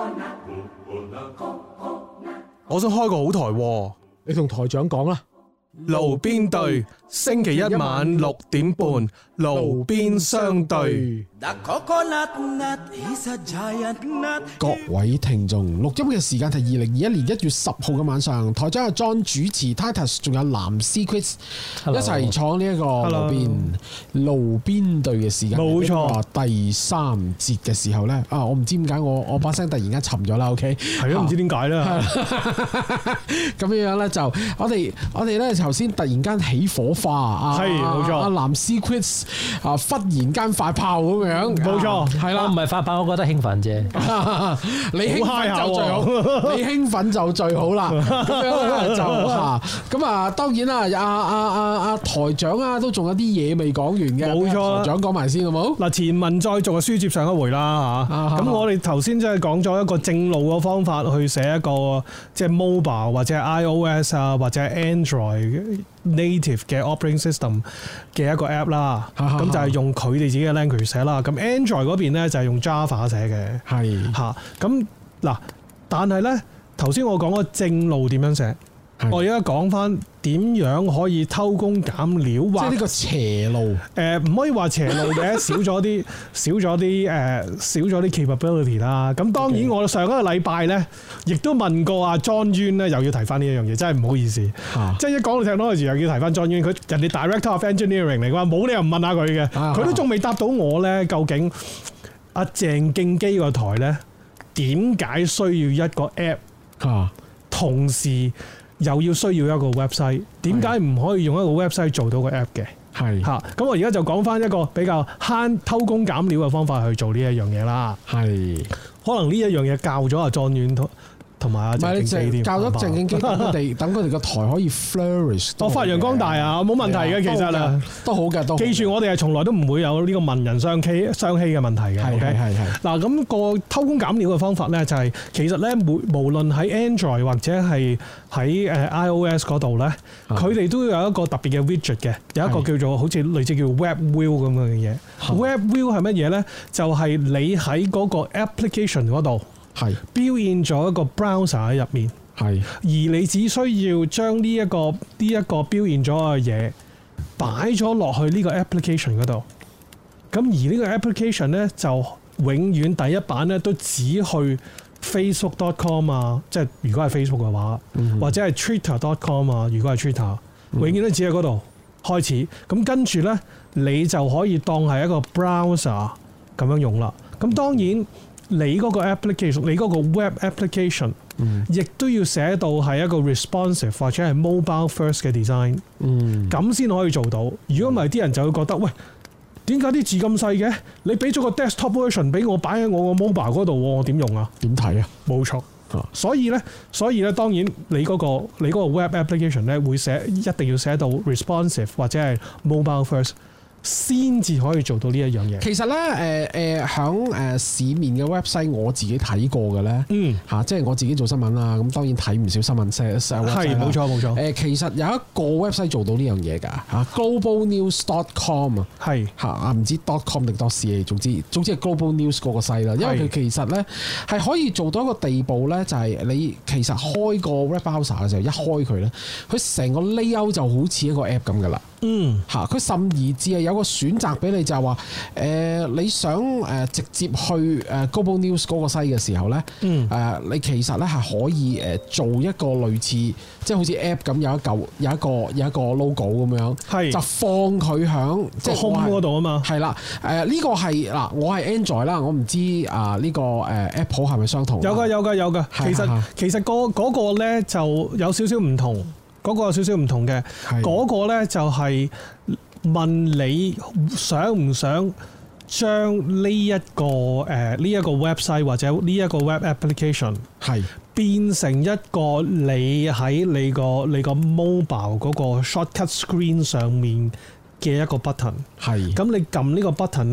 Speaker 1: 我想開個好台喎，你同台長講啦。 爐邊對，星期一晚六點半，爐邊相對。
Speaker 2: 各位聽眾，錄音嘅時間係二零二一年一月十號嘅晚上，台長阿 John 主持 Titus， 仲有藍絲 Chris 一齊闖呢一個爐邊爐邊對嘅時間。冇錯，第三節嘅時候呢，啊，我唔知點解我我把聲突然間沉咗啦。OK，
Speaker 1: 係咯，唔知點解啦。
Speaker 2: 咁樣樣咧就我哋我哋咧頭先突然間起火花啊，
Speaker 1: 係冇錯，
Speaker 2: 阿藍絲 Chris 啊忽然間發炮咁樣，冇錯，係啦，
Speaker 3: 我唔係發炮，我覺得興奮啫。
Speaker 2: 你興奮就最好，你興奮就最好啦。咁樣咧就嚇，咁啊當然啦，阿阿阿阿台長啊都仲有啲嘢未講完嘅，冇錯，台長講埋先好冇？
Speaker 1: 嗱，前文再續嘅書接上一回啦嚇，咁我哋頭先即係講咗一個正路嘅方法去寫一個即係 mobile 或者係 iOS 啊或者係 Android native 嘅 operating system 嘅一個 app 啦，咁就係用佢哋自己嘅 language 寫啦。咁 Android 嗰邊咧就係用 Java 寫嘅，係嚇。咁嗱，但係咧頭先我講個正路點樣寫，我而家講翻點樣可以偷工減料，或者呢個邪路。誒唔可以話邪路嘅，少咗啲少咗啲誒少咗啲 capability 啦。咁當然我上一個禮拜咧，亦都問過阿 John Yuen 咧，又要提翻呢一樣嘢，真係唔好意思。啊、即係一講到 technology 又要提翻 John Yuen，佢人哋 Director of Engineering 嚟嘅話，冇理由唔問下佢嘅。佢、啊、都仲未答到我咧，究竟阿鄭敬基個台咧點解需要一個 app，、啊、同時又要需要一個 website， 點解唔可以用一個 website 做到個 app 嘅？係嚇，咁我而家就講翻一個比較慳偷工減料嘅方法去做呢一樣嘢啦。係，可能呢一樣嘢教咗阿莊遠同埋阿鄭敬基，教咗鄭敬基，等佢哋等佢哋個台可以 flourish， 哦發揚光大啊，冇問題嘅其實啊，都好嘅，都記住我哋係從來都唔會有呢個文人相欺相欺嘅問題嘅。係係係。嗱咁個偷工減料嘅方法咧，就係其實咧，無無論喺 Android 或者係喺誒 iOS 嗰度咧，佢哋都有一個特別嘅 widget 嘅，有一個叫做好似類似叫 Web View 咁樣嘅嘢。Web View 係乜嘢咧？就係你喺嗰個 application 嗰度。係標現咗一個 browser 喺入面，係而你只需要將呢一個呢一個標現咗嘅嘢擺咗落去呢個 application 嗰度，咁而呢個 application 咧就永遠第一版咧都只去 facebook dot com 啊，即係如果係 Facebook 嘅話，嗯、或者係 twitter dot com 啊，如果係 Twitter，、嗯、永遠都只喺嗰度開始，咁跟住咧你就可以當係一個 browser 咁樣用啦。咁當然。你嗰個 application， 你嗰個 web application，亦、嗯、都要寫到係一個 responsive 或者係 mobile first 嘅 design，咁先、嗯、可以做到。如果唔係，啲人就會覺得，喂，點解啲字咁細嘅？你俾咗個 desktop version 俾我擺喺我個 mobile 嗰度，我點用啊？點睇啊？冇錯，所以咧，所以咧，當然你嗰、嗰個你嗰個 web application 咧會寫一定要寫到 responsive 或者係 mobile first。先至可以做到呢一樣嘢。其實咧，誒誒響誒市面嘅 website，我自己睇過嘅咧，嗯嚇、啊，即係我自己做新聞啦，咁當然睇唔少新聞社社 website 係冇錯冇錯。誒、呃，其實有一個 website 做到呢樣嘢㗎嚇 global news dot com 啊，係嚇啊，唔知 dot com 定 dot ca， 總之總之係 global news 嗰個 site 啦。因為佢其實咧係可以做到一個地步咧，就係、是、你其實開個 web browser 嘅時候，一開佢咧，佢成個 layout 就好似一個 app 咁㗎啦。嗯嚇，佢甚而至係有個選擇俾你，就係話誒你想誒直接去誒 Global News 嗰個西嘅時候咧，嗯誒你其實咧係可以誒做一個類似即係好似 app 咁有一嚿有一個有一個 logo 咁樣，係就放佢響即係 home 嗰度啊嘛，係啦誒呢個係嗱我係 Android 啦，我唔知啊呢個誒 Apple 係咪相同？有㗎有㗎有㗎，其實其實嗰嗰個咧就有少少唔同。嗰個有少少唔同嘅，嗰個咧就係問你想唔想將呢一個誒呢一個 website 或者呢一個 web application 係變成一個你喺你個你個 mobile 嗰個 shortcut screen 上面嘅一個 button。係咁你撳呢個 button 咧，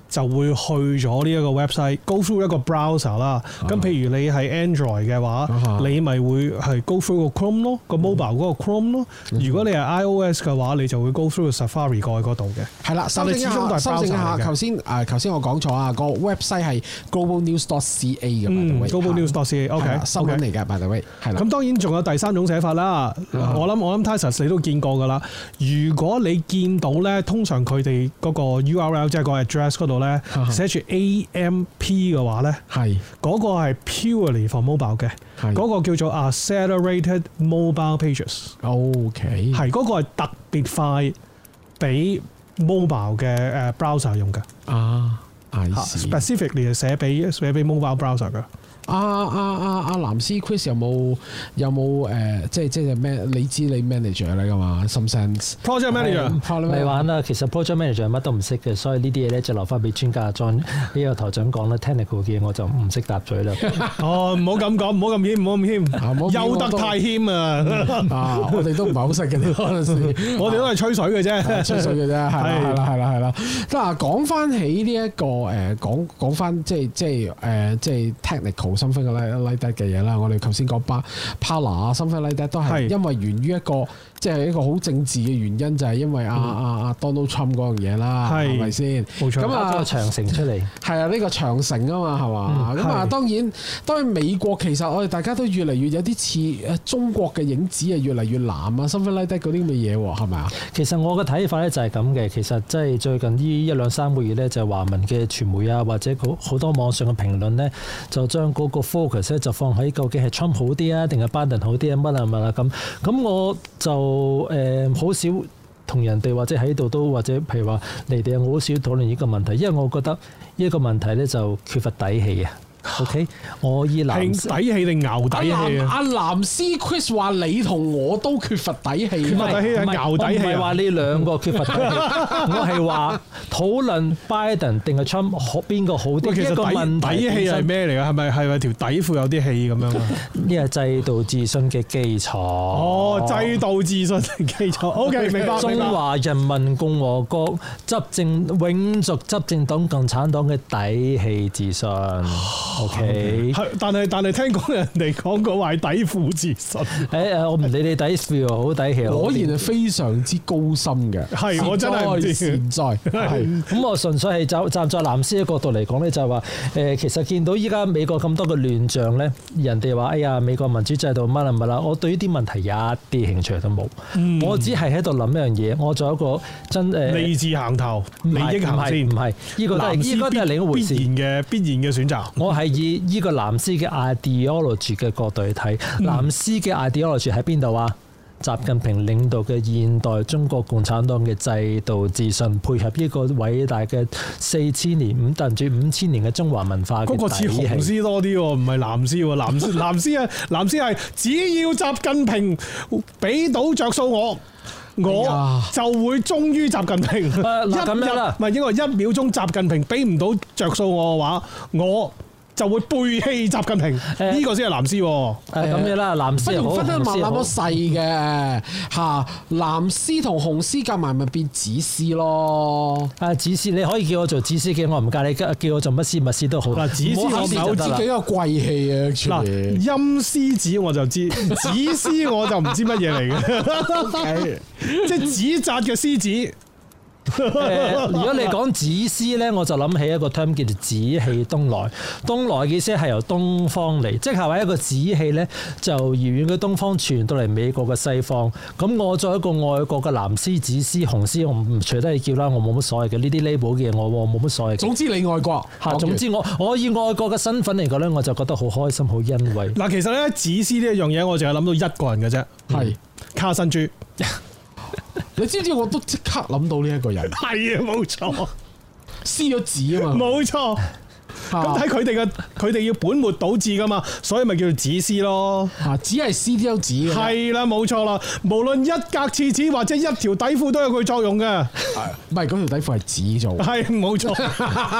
Speaker 1: 就會去咗呢一個 website，go through 一個 browser 啦。咁、啊、譬如你係 Android 嘅話，啊、你咪會係 go through 個 Chrome 咯，個 mobile 嗰個 Chrome 咯。嗯、如果你係 iOS 嘅話，你就會 go through 個 Safari 過去嗰度嘅。係啦，
Speaker 2: 修正一下，修正一下，頭先誒頭先我講錯啊，個 website 係 global news dot c a 嘅。嗯
Speaker 1: global news dot c a，OK，
Speaker 2: 新聞嚟嘅 by the way。係啦。
Speaker 1: 咁當然仲有第三種寫法啦。嗯、我諗我諗 Titus 你都見過㗎啦。如果你見到咧，通常佢哋嗰個 U R L 即係個 address 嗰度咧，寫住 A M P 嘅話咧，係嗰個係 purely for mobile 嘅，嗰個叫做 accelerated mobile pages。OK， 係嗰個係特別快俾 mobile 嘅誒 browser 用嘅。啊 ，specifically 係寫俾寫俾 mobile browser 嘅。阿
Speaker 2: 阿阿阿藍絲 Chris 有冇有冇誒？即係即係咩？你知你 manager 嚟㗎嘛 ？Some sense
Speaker 1: project manager
Speaker 3: 咪玩啦。其實 project manager 乜都唔識嘅，所以呢啲嘢咧就留翻俾專家 John 呢個台長講啦。Technical 嘅嘢我就唔識答嘴啦。
Speaker 1: 哦，唔好咁講，唔好咁謙，唔好咁謙，休得太謙啊！
Speaker 2: 啊，我哋都唔係好識嘅嗰陣時，
Speaker 1: 我哋都係吹水嘅啫，
Speaker 2: 吹水嘅啫，係啦，係啦，係啦。嗱，講翻起呢一個誒，講講翻即係即係誒，即係 technical。something like that 嘅嘢啦，我哋頭先講巴 Parler 啊 something like that 都係因為源於一個即係、就是、一個好政治嘅原因，就係、是、因為阿阿阿 Donald Trump 嗰樣嘢啦，係咪先？冇錯。咁啊，
Speaker 3: 個長城出嚟
Speaker 2: 係啊，呢、這個長城啊嘛，係嘛？咁、嗯、啊，當然當然美國其實我哋大家都越嚟越有啲似誒中國嘅影子啊，越嚟越藍啊 something like that 嗰啲咁嘅嘢喎，係咪啊？
Speaker 3: 其實我嘅睇法咧就係咁嘅，其實即係最近呢一兩三個月咧，就係華文嘅傳媒啊，或者好多網上嘅評論咧，就將嗰個 focus 咧就放喺究竟係 Trump 好啲啊，定係拜登好啲啊，乜啊乜啊咁。咁我就誒好、呃、少同人哋或者喺度都或者譬如話你哋，我好少討論呢個問題，因為我覺得呢個問題咧就缺乏底氣啊。OK， 我以藍
Speaker 1: 底氣定牛底氣啊？
Speaker 2: 阿藍絲 Chris 話你同我都缺乏底氣，
Speaker 1: 缺乏底氣係牛底氣。
Speaker 3: 唔係話呢兩個缺乏底氣，我係話討論拜登定係 Trump 邊個好啲。
Speaker 1: 其實底底氣係咩嚟㗎？係咪係咪條底褲有啲氣咁樣啊？
Speaker 3: 呢係制度自信嘅基礎。
Speaker 1: 哦，制度自信嘅基礎。OK， 明白。
Speaker 3: 中華人民共和國執政永續執政黨共產黨嘅底氣自信。O K，
Speaker 1: 係，但係但係聽講人哋講過話底褲自信。
Speaker 3: 誒誒，我唔理你底褲好底氣，
Speaker 2: 果然係非常之高深嘅。
Speaker 1: 係，我真係唔知。
Speaker 2: 現在係
Speaker 3: 咁，我純粹係站站在藍絲嘅角度嚟講咧，就係話誒，其實見到依家美國咁多嘅亂象咧，人哋話哎呀，美國民主制度乜啦乜啦，我對呢啲問題一啲興趣都冇。嗯、我只係喺度諗一樣嘢，我做一個真誒
Speaker 1: 利字行頭，利益行先，
Speaker 3: 唔係呢個都係呢個都係另一回事。
Speaker 1: 必然嘅必然嘅選擇。
Speaker 3: 我係以呢個藍絲嘅 ideology 嘅角度去睇，藍絲嘅 ideology 喺邊度啊？習近平領導嘅現代中國共產黨嘅制度自信，配合呢個偉大嘅四千年五甚至五千年嘅中華文化嘅底氣。嗰個似紅絲多啲喎，唔係藍絲喎。藍絲藍絲啊，藍絲係只要習近平俾到着數我。我就會忠於習近平。呃、一咁樣啦，唔係應該一秒鐘習近平俾唔到着數我嘅話，我就會背棄習近平。呢、呃、個先係藍絲。誒咁樣啦，藍絲好，不如分得萬那麼細嘅嚇，藍絲同紅絲夾埋咪變紫絲咯。啊，紫絲你可以叫我做紫絲嘅，我唔介意。叫我做乜絲乜絲都好。嗱，紫絲我唔係好知幾個貴氣啊。嗱，陰絲子我就知，紫絲我就唔知乜嘢嚟嘅。即係紙紮嘅獅子。呃、如果你講紫絲咧，我就諗起一個 term 叫做紫氣東來。東來嘅意思係由東方嚟，即係話一個紫氣咧就遙遠嘅東方傳到嚟美國嘅西方。咁我作為一個愛國嘅藍絲、紫絲、紅絲，我唔隨得你叫啦，我冇乜所謂嘅。呢啲 label 嘅嘢我我冇乜所謂。總之你愛國嚇，總之我我以愛國嘅身份嚟講咧，我就覺得好開心、好欣慰。嗱，其實咧紫絲呢一樣嘢，我淨係諗到一個人嘅啫，係、嗯、卡辛豬。你知唔知我都即刻諗到呢一個人？係啊，冇錯，撕咗紙啊嘛，冇錯。咁睇佢哋嘅，佢哋要本末倒置噶嘛，所以咪叫做紙絲咯。嚇，只係撕張紙嘅。係啦，冇錯啦。無論一格廁紙或者一條底褲都有佢作用嘅。唔係，嗰條底褲係紙做。係冇錯。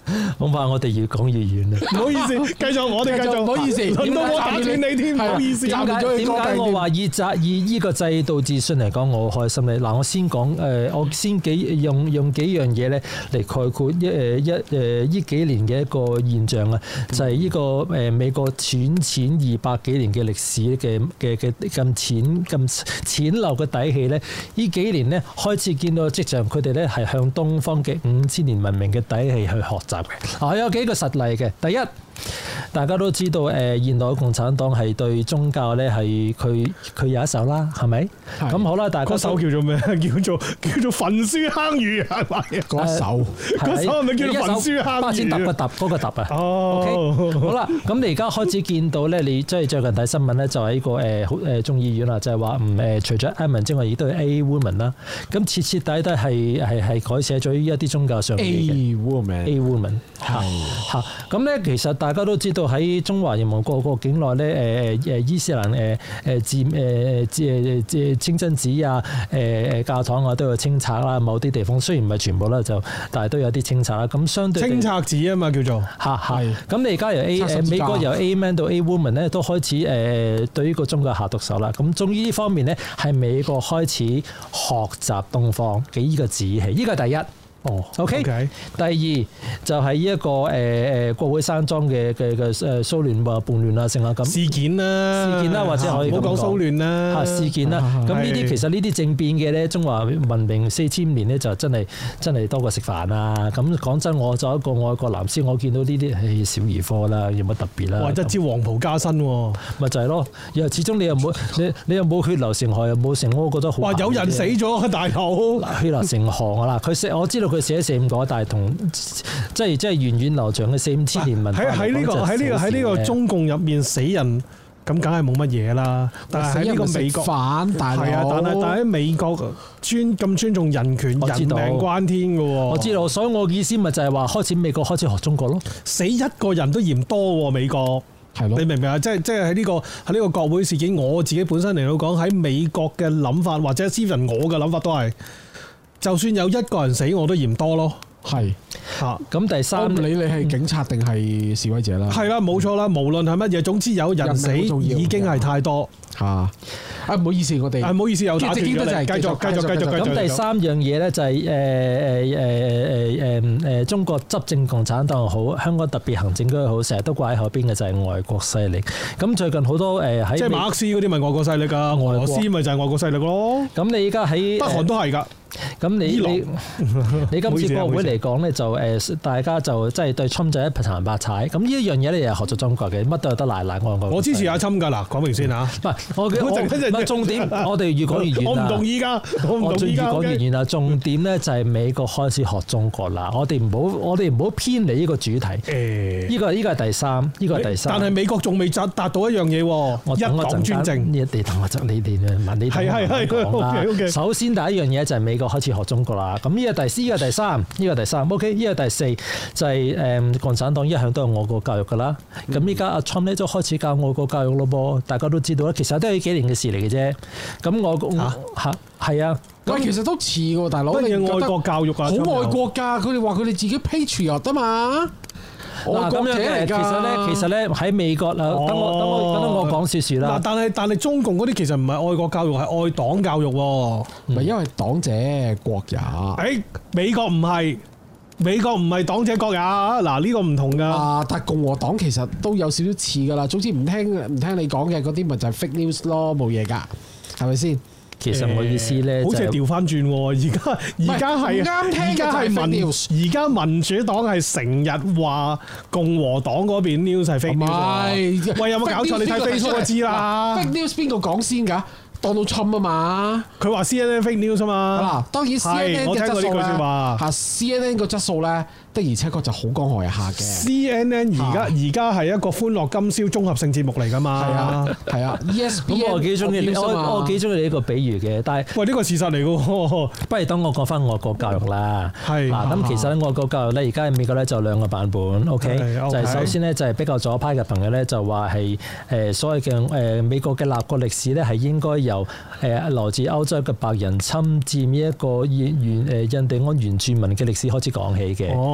Speaker 3: 恐怕我哋越講越遠啦。
Speaker 1: 唔好意思，繼續我哋繼續。
Speaker 2: 唔好意思，
Speaker 1: 輪到我打斷你添，唔好意思。
Speaker 3: 點解點解我話以制以依個制度自信嚟講，我好開心咧？嗱，我先講誒，我先幾用用幾樣嘢咧嚟概括一誒一誒依幾年嘅一個現象啊，就係依個誒美國淺淺二百幾年嘅歷史嘅嘅嘅咁淺咁淺陋嘅底氣咧，依幾年咧開始見到跡象，佢哋咧係向東方嘅五千年文明嘅底氣去學習嘅。啊，有幾個實例嘅，第一。大家都知道誒，現代共產黨係對宗教咧係佢佢有一手啦，係咪？咁好啦，大家
Speaker 1: 嗰首叫做咩？叫做叫做焚書坑儒係咪？
Speaker 2: 嗰首
Speaker 1: 嗰首係咪叫做焚書坑儒？
Speaker 3: 巴先揼個揼嗰個揼啊！
Speaker 1: 哦
Speaker 3: ，OK， 好啦，咁你而家開始見到咧，你即係最近睇新聞咧，就係呢個誒好誒眾議院啦，就係話唔誒除咗 Amen 之外，亦都係 A woman 啦。咁徹徹底底係係係改寫咗一啲宗教上嘅
Speaker 2: A woman，A
Speaker 3: woman 嚇嚇。咁咧其實大家都知道喺中華人民共和國境內咧，誒誒伊斯蘭誒誒佔誒誒誒清真寺啊，誒誒教堂啊都有清拆啦。某啲地方雖然唔係全部啦，就但係都有啲清拆啦。咁相對
Speaker 1: 清拆寺啊嘛叫做
Speaker 3: 嚇係。咁你而家由 A 誒美國由 A man 到 A woman 咧，都開始誒對呢個宗教下毒手啦。咁終於呢方面咧，係美國開始學習東方嘅呢個旨意，呢個係第一。哦 ，OK。第二就係呢一個誒誒國會山莊嘅嘅嘅誒騷亂或叛亂啊，成啊咁
Speaker 1: 事件啦，
Speaker 3: 事件啦，或者可以咁講。
Speaker 1: 唔好講騷亂啦，
Speaker 3: 嚇事件啦。咁呢啲其實呢啲政變嘅咧，中華文明四千年咧就真係真係多過食飯啊！咁講真，我作為一個愛國藍絲，我見到呢啲係小兒科啦，有乜特別啦？
Speaker 1: 哇！一招黃袍加身喎，
Speaker 3: 咪就係咯。又始終你又冇你你又冇血流成河，又冇成，我覺得好。
Speaker 1: 哇！有人死咗，大佬
Speaker 3: 血流成河啊！嗱，佢寫我知道佢寫四五個。但係同即係即係源遠流長嘅四五千年文化嚟講，
Speaker 1: 喺喺呢個喺呢個喺呢個中共入面死人咁，梗係冇乜嘢啦。但係喺呢個美國
Speaker 2: 反，但係
Speaker 1: 啊，但係但係喺美國尊咁尊重人權，人命關天嘅喎。
Speaker 3: 我知道，所以我意思咪就係話開始美國開始學中國咯。
Speaker 1: 死一個人都嫌多喎，美國係咯，你明唔明啊？即係即係喺呢個喺呢個國會事件，我自己本身嚟到講喺美國嘅諗法，或者 Steven 我嘅諗法都係，就算有一個人死，我都嫌多咯。
Speaker 2: 係
Speaker 3: 嚇，咁第三，
Speaker 2: 我唔理你係警察定係示威者啦。
Speaker 1: 係啦，冇錯啦，無論係乜嘢，總之有人死已經係太多
Speaker 2: 嚇。啊，唔好意思，我哋
Speaker 1: 啊唔好意思，又打斷咗你。繼續繼續繼續繼續。
Speaker 3: 咁第三樣嘢咧就係誒誒誒誒誒誒中國執政共產黨又好，香港特別行政區又好，成日都掛喺後邊嘅就係外國勢力。咁最近好多誒喺
Speaker 1: 即係馬克思嗰啲咪外國勢力㗎，俄羅斯咪就係外國勢力咯。
Speaker 3: 咁你而家喺
Speaker 1: 北韓都係㗎。
Speaker 3: 咁你你你今次國會嚟講咧，就誒大家就即係對侵就一殘百踩。咁呢一樣嘢咧又學咗中國嘅，乜都有得賴賴我我。
Speaker 1: 我支持阿侵㗎嗱，講明先嚇。
Speaker 3: 唔係我我唔係重點，我哋越講越遠。
Speaker 1: 我唔同意㗎，我唔同意㗎。
Speaker 3: 越講越遠啦。重點咧就係美國開始學中國啦。我哋唔好我哋唔好偏離呢個主題。誒，呢個呢個係第三，呢個係第三。
Speaker 1: 但係美國仲未達達到一樣嘢喎，一黨專政。
Speaker 3: 你等我執你哋問你哋講啦。首先第一樣嘢就係美國開始學中國啦。咁呢個第四，呢個第三，呢個第三 ，OK， 呢個第四就係誒共產黨一向都係愛國教育㗎啦。咁依家阿 Trump 咧都開始教愛國教育咯噃，大家都知道啦。其實都係呢幾年嘅事嚟嘅啫。咁我嚇係啊，
Speaker 2: 喂，其實都似喎，大佬。
Speaker 1: 乜嘢愛國教育啊？
Speaker 2: 好愛國㗎，佢哋話佢哋自己 patriot 啊嘛。
Speaker 3: 嗱咁樣嘅，其實咧，其實咧喺美國啊，等我等我等我講少少啦。
Speaker 1: 嗱，但係但係中共嗰啲其實唔係愛國教育，係愛黨教育喎。
Speaker 2: 唔係因為黨者國也。
Speaker 1: 誒，美國唔係，美國唔係黨者國也。嗱，呢個唔同㗎。
Speaker 2: 啊，但係共和黨其實都有少少似㗎啦。總之唔聽唔聽你講嘅嗰啲，咪就係 fake news 咯，冇嘢㗎，係咪先？
Speaker 3: 其實我意思咧，
Speaker 1: 好似係調翻轉喎。而家而家係
Speaker 2: 啱聽，
Speaker 1: 而家係民而家民主黨係成日話共和黨嗰邊 news 係 fake news。喂，有冇搞錯？你睇 Facebook 就知啦。
Speaker 2: fake news 邊個講先㗎？Donald Trump啊嘛。佢話
Speaker 1: C N N fake news 啊嘛。嗱，
Speaker 2: 當然 C N N 嘅質素咧，嚇 C N N 個質素咧。的而且確就好光害下嘅。
Speaker 1: C N N 而家而家係一個歡樂今宵綜合性節目嚟㗎嘛。係啊，係啊。E S P N
Speaker 3: 我幾中意，我我幾中意你呢個比喻嘅。但係
Speaker 1: 喂，呢個事實嚟㗎喎。
Speaker 3: 不如等我講翻外國教育啦。
Speaker 1: 係。嗱，
Speaker 3: 咁其實咧，外國教育咧，而家喺美國咧就有兩個版本。OK，就係首先咧就係比較左派嘅朋友咧就話係誒所謂嘅誒美國嘅立國歷史咧係應該由誒來自歐洲嘅白人侵佔呢一個原原誒印第安原住民嘅歷史開始講起嘅。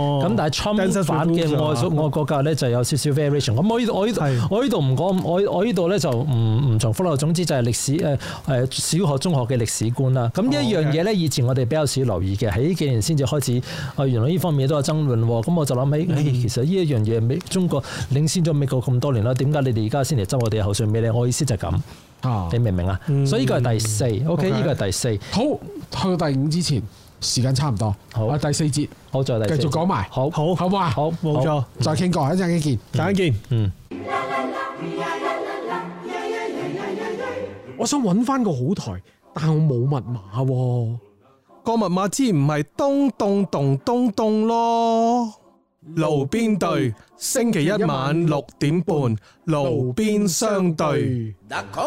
Speaker 3: 哦，咁但係 Trump 版嘅愛愛國教咧就有少少 variation。咁我呢度我呢度我呢度唔講，我我呢度咧就唔唔重複啦。總之就係歷史誒誒小學中學嘅歷史觀啦。咁呢一樣嘢咧，以前我哋比較少留意嘅，喺呢幾年先至開始。啊，原來呢方面都有爭論喎。咁我就諗起，嗯、其實呢一樣嘢美中國領先咗美國咁多年啦，點解你哋而家先嚟執我哋嘅口水尾咧？我意思就係咁。啊、你明唔明啊？嗯、所以呢個係第四 ，OK， 呢個係第四。好，
Speaker 2: 去到第五之前，時間差唔多。好，啊、第四節，
Speaker 3: 好，再第四節
Speaker 2: 繼續講埋。好，好，好唔好啊？
Speaker 1: 好，冇錯。
Speaker 2: 再傾過，一陣間見，陣間見。嗯。我想揾翻個好台，但我冇密碼喎。
Speaker 1: 個密碼之唔係東東東東東咯。路邊對，星期一晚六點半，路邊相對。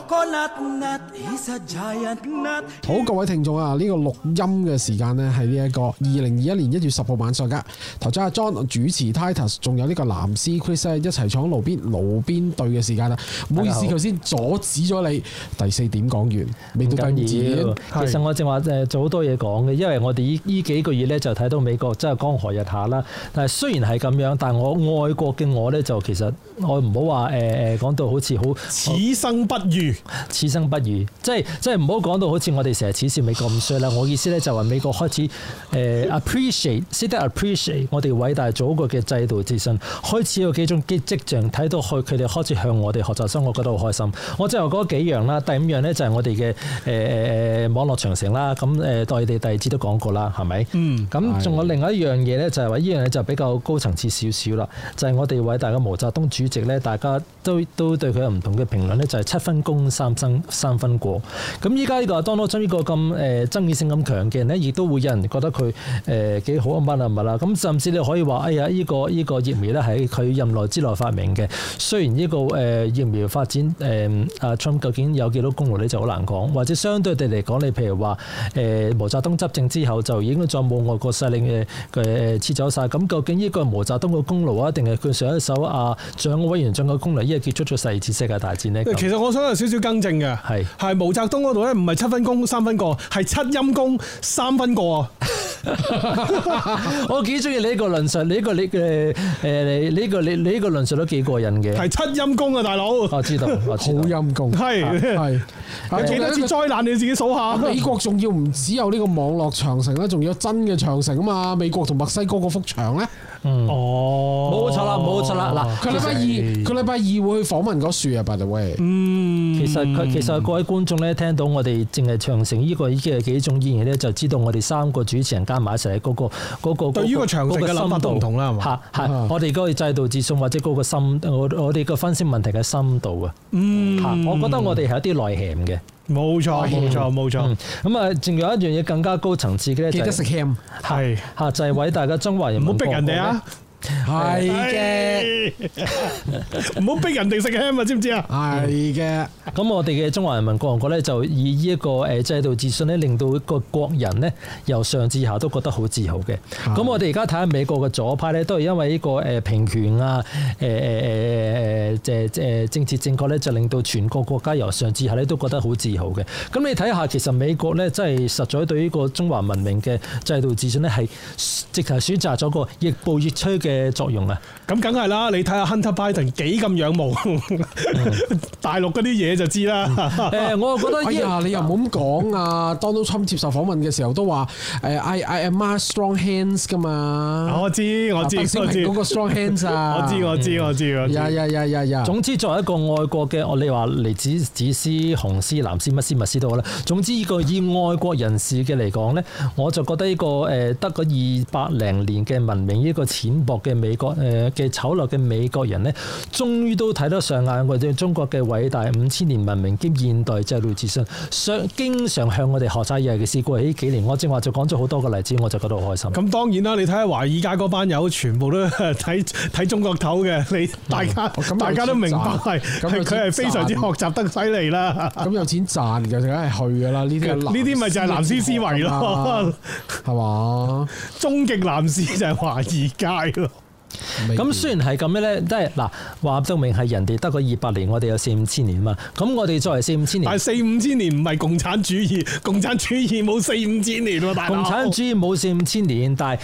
Speaker 2: 好，各位聽眾啊，呢、這個錄音嘅時間呢係呢一個二零二一年一月十號晚上噶。頭先阿 John 主持 Titus， 仲有呢個藍絲 Chris 一齊坐喺路邊路邊對嘅時間啦。唔好意思，頭先阻止咗你。第四點講完，未到第五點。
Speaker 3: 其實我正話誒做好多嘢講嘅，因為我哋呢呢幾個月咧就睇到美國真係江河日下啦。但係雖然係咁樣，但係我愛國嘅我咧就其實我唔好話誒誒講到好似好
Speaker 1: 此生不渝。
Speaker 3: 此生不渝，即係即係唔好講到好似我哋成日恥笑美國咁衰啦。我意思咧就話美國開始誒、呃、appreciate，識得 appreciate 我哋偉大祖國嘅制度自信，開始有幾種跡跡象睇到去佢哋開始向我哋學習生活，我覺得好開心。我最後講幾樣啦，第五樣咧就係我哋嘅誒誒網絡長城啦。咁誒，我哋第二節都講過啦，係咪？嗯。咁仲有另外一樣嘢咧，就係話呢樣嘢就比較高層次少少啦，就係、是、我哋偉大嘅毛澤東主席咧，大家都都對佢有唔同嘅評論咧，就係、是、七分功三分三分過。咁依家呢個 Donald Trump 呢個咁誒爭議性咁強嘅人咧，亦都會有人覺得佢誒幾好啊乜啊乜啦。咁甚至你可以話，哎呀，呢、這個依、這個疫苗咧係佢任內之內發明嘅。雖然呢、這個誒、呃、疫苗發展誒阿 Trump 究竟有幾多功勞咧就好難講，或者相對地嚟講，你譬如話誒、呃、毛澤東執政之後就已經再冇外國勢力嘅嘅撤走晒。咁究竟呢個係毛澤東嘅功勞啊，定係佢上一手啊蔣委員長嘅功勞？依個結束咗第二次世界大戰呢？
Speaker 1: 其實我想有少少更正嘅，係係毛澤東嗰度咧，唔係七分功三分過，係七陰功三分過啊！
Speaker 3: 我幾中意你呢個論述，你呢個你嘅誒，你呢個你你呢個論述都幾過癮嘅。
Speaker 1: 係七陰功啊，大佬！
Speaker 3: 我知道，我知道
Speaker 2: 好陰功，
Speaker 1: 係係。有幾多次災難你自己數下。
Speaker 2: 美國仲要唔只有呢個網絡長城咧，仲有真嘅長城啊嘛！美國同墨西哥嗰幅牆咧。
Speaker 3: 嗯，哦，冇錯啦，冇錯啦。嗱，
Speaker 2: 佢禮拜二，佢禮拜二會去訪問嗰樹啊 ，by the way。
Speaker 3: 嗯，其實佢其實各位觀眾咧，聽到我哋淨係長城呢個已經係幾種演繹咧，就知道我哋三個主持人加埋一齊嗰個嗰個
Speaker 1: 對於個長城嘅諗法都唔同啦，係嘛？
Speaker 3: 係係，我哋嗰個制度自信或者嗰個深，我我哋個分析問題嘅深度啊。嗯，我覺得我哋係一啲內涵嘅。
Speaker 1: 冇錯，冇錯，冇錯。
Speaker 3: 咁啊，仲有一樣嘢更加高層次嘅咧，就係食 ham，係嚇，就係偉大嘅中華人民。唔好逼人哋啊！
Speaker 2: 係嘅，
Speaker 1: 唔好逼人哋食 ham 啊！知唔知啊？
Speaker 2: 係嘅。
Speaker 3: 咁我哋嘅中華人民共和國咧，就以呢一個誒制度自信咧，令到一個國人咧由上至下都覺得好自豪嘅。咁我哋而家睇下美國嘅左派咧，都係因為呢個誒平權啊、誒誒誒誒誒誒政治正確咧，就令到全國國家由上至下咧都覺得好自豪嘅。咁你睇下，其實美國咧真係實在對呢個中華文明嘅制度自信咧，係直頭選擇咗個亦步亦趨嘅作用啊！
Speaker 1: 咁梗係啦，你睇下 Hunter Biden 幾咁仰慕大陸嗰啲嘢就知啦。
Speaker 3: 誒，我覺得
Speaker 2: 哎呀，你又唔好咁講啊！Donald Trump 接受訪問嘅時候都話誒，I I admire strong hands 噶嘛。
Speaker 1: 我知我知我知
Speaker 2: 嗰個 strong hands 啊！
Speaker 1: 我知我知我知我知。
Speaker 2: 呀呀呀呀呀！
Speaker 3: 總之作為一個愛國嘅，我你話嚟自紫絲、紅絲、藍絲、乜絲、乜絲都好啦。總之呢個以愛國人士嘅嚟講咧，我就覺得呢個誒得個二百零年嘅文明，呢個淺薄嘅美國誒嘅醜陋嘅美國人咧，終於都睇得上眼我哋中國嘅偉大五千年文明兼現代制度自信，上經常向我哋學習。尤其是過去呢幾年，我正話就講咗好多個例子，我就覺得好開心。
Speaker 1: 咁當然啦，你睇下華爾街嗰班友，全部都睇睇中國頭嘅，你大家、嗯、大家都明白係係佢係非常之學習得犀利啦。咁
Speaker 2: 有錢賺嘅，梗係去㗎啦。呢啲呢
Speaker 1: 啲咪就係藍絲思維咯，
Speaker 2: 係嘛？
Speaker 1: 終極藍絲就係華爾街咯。
Speaker 3: 咁雖然係咁樣咧，即係嗱話到明係人哋得個二百年，我哋有四五千年嘛。咁我哋作為四五千年，
Speaker 1: 但係四五千年唔係共產主義，共產主義冇四五千年喎，大佬。
Speaker 3: 共產主義冇四五千年，但係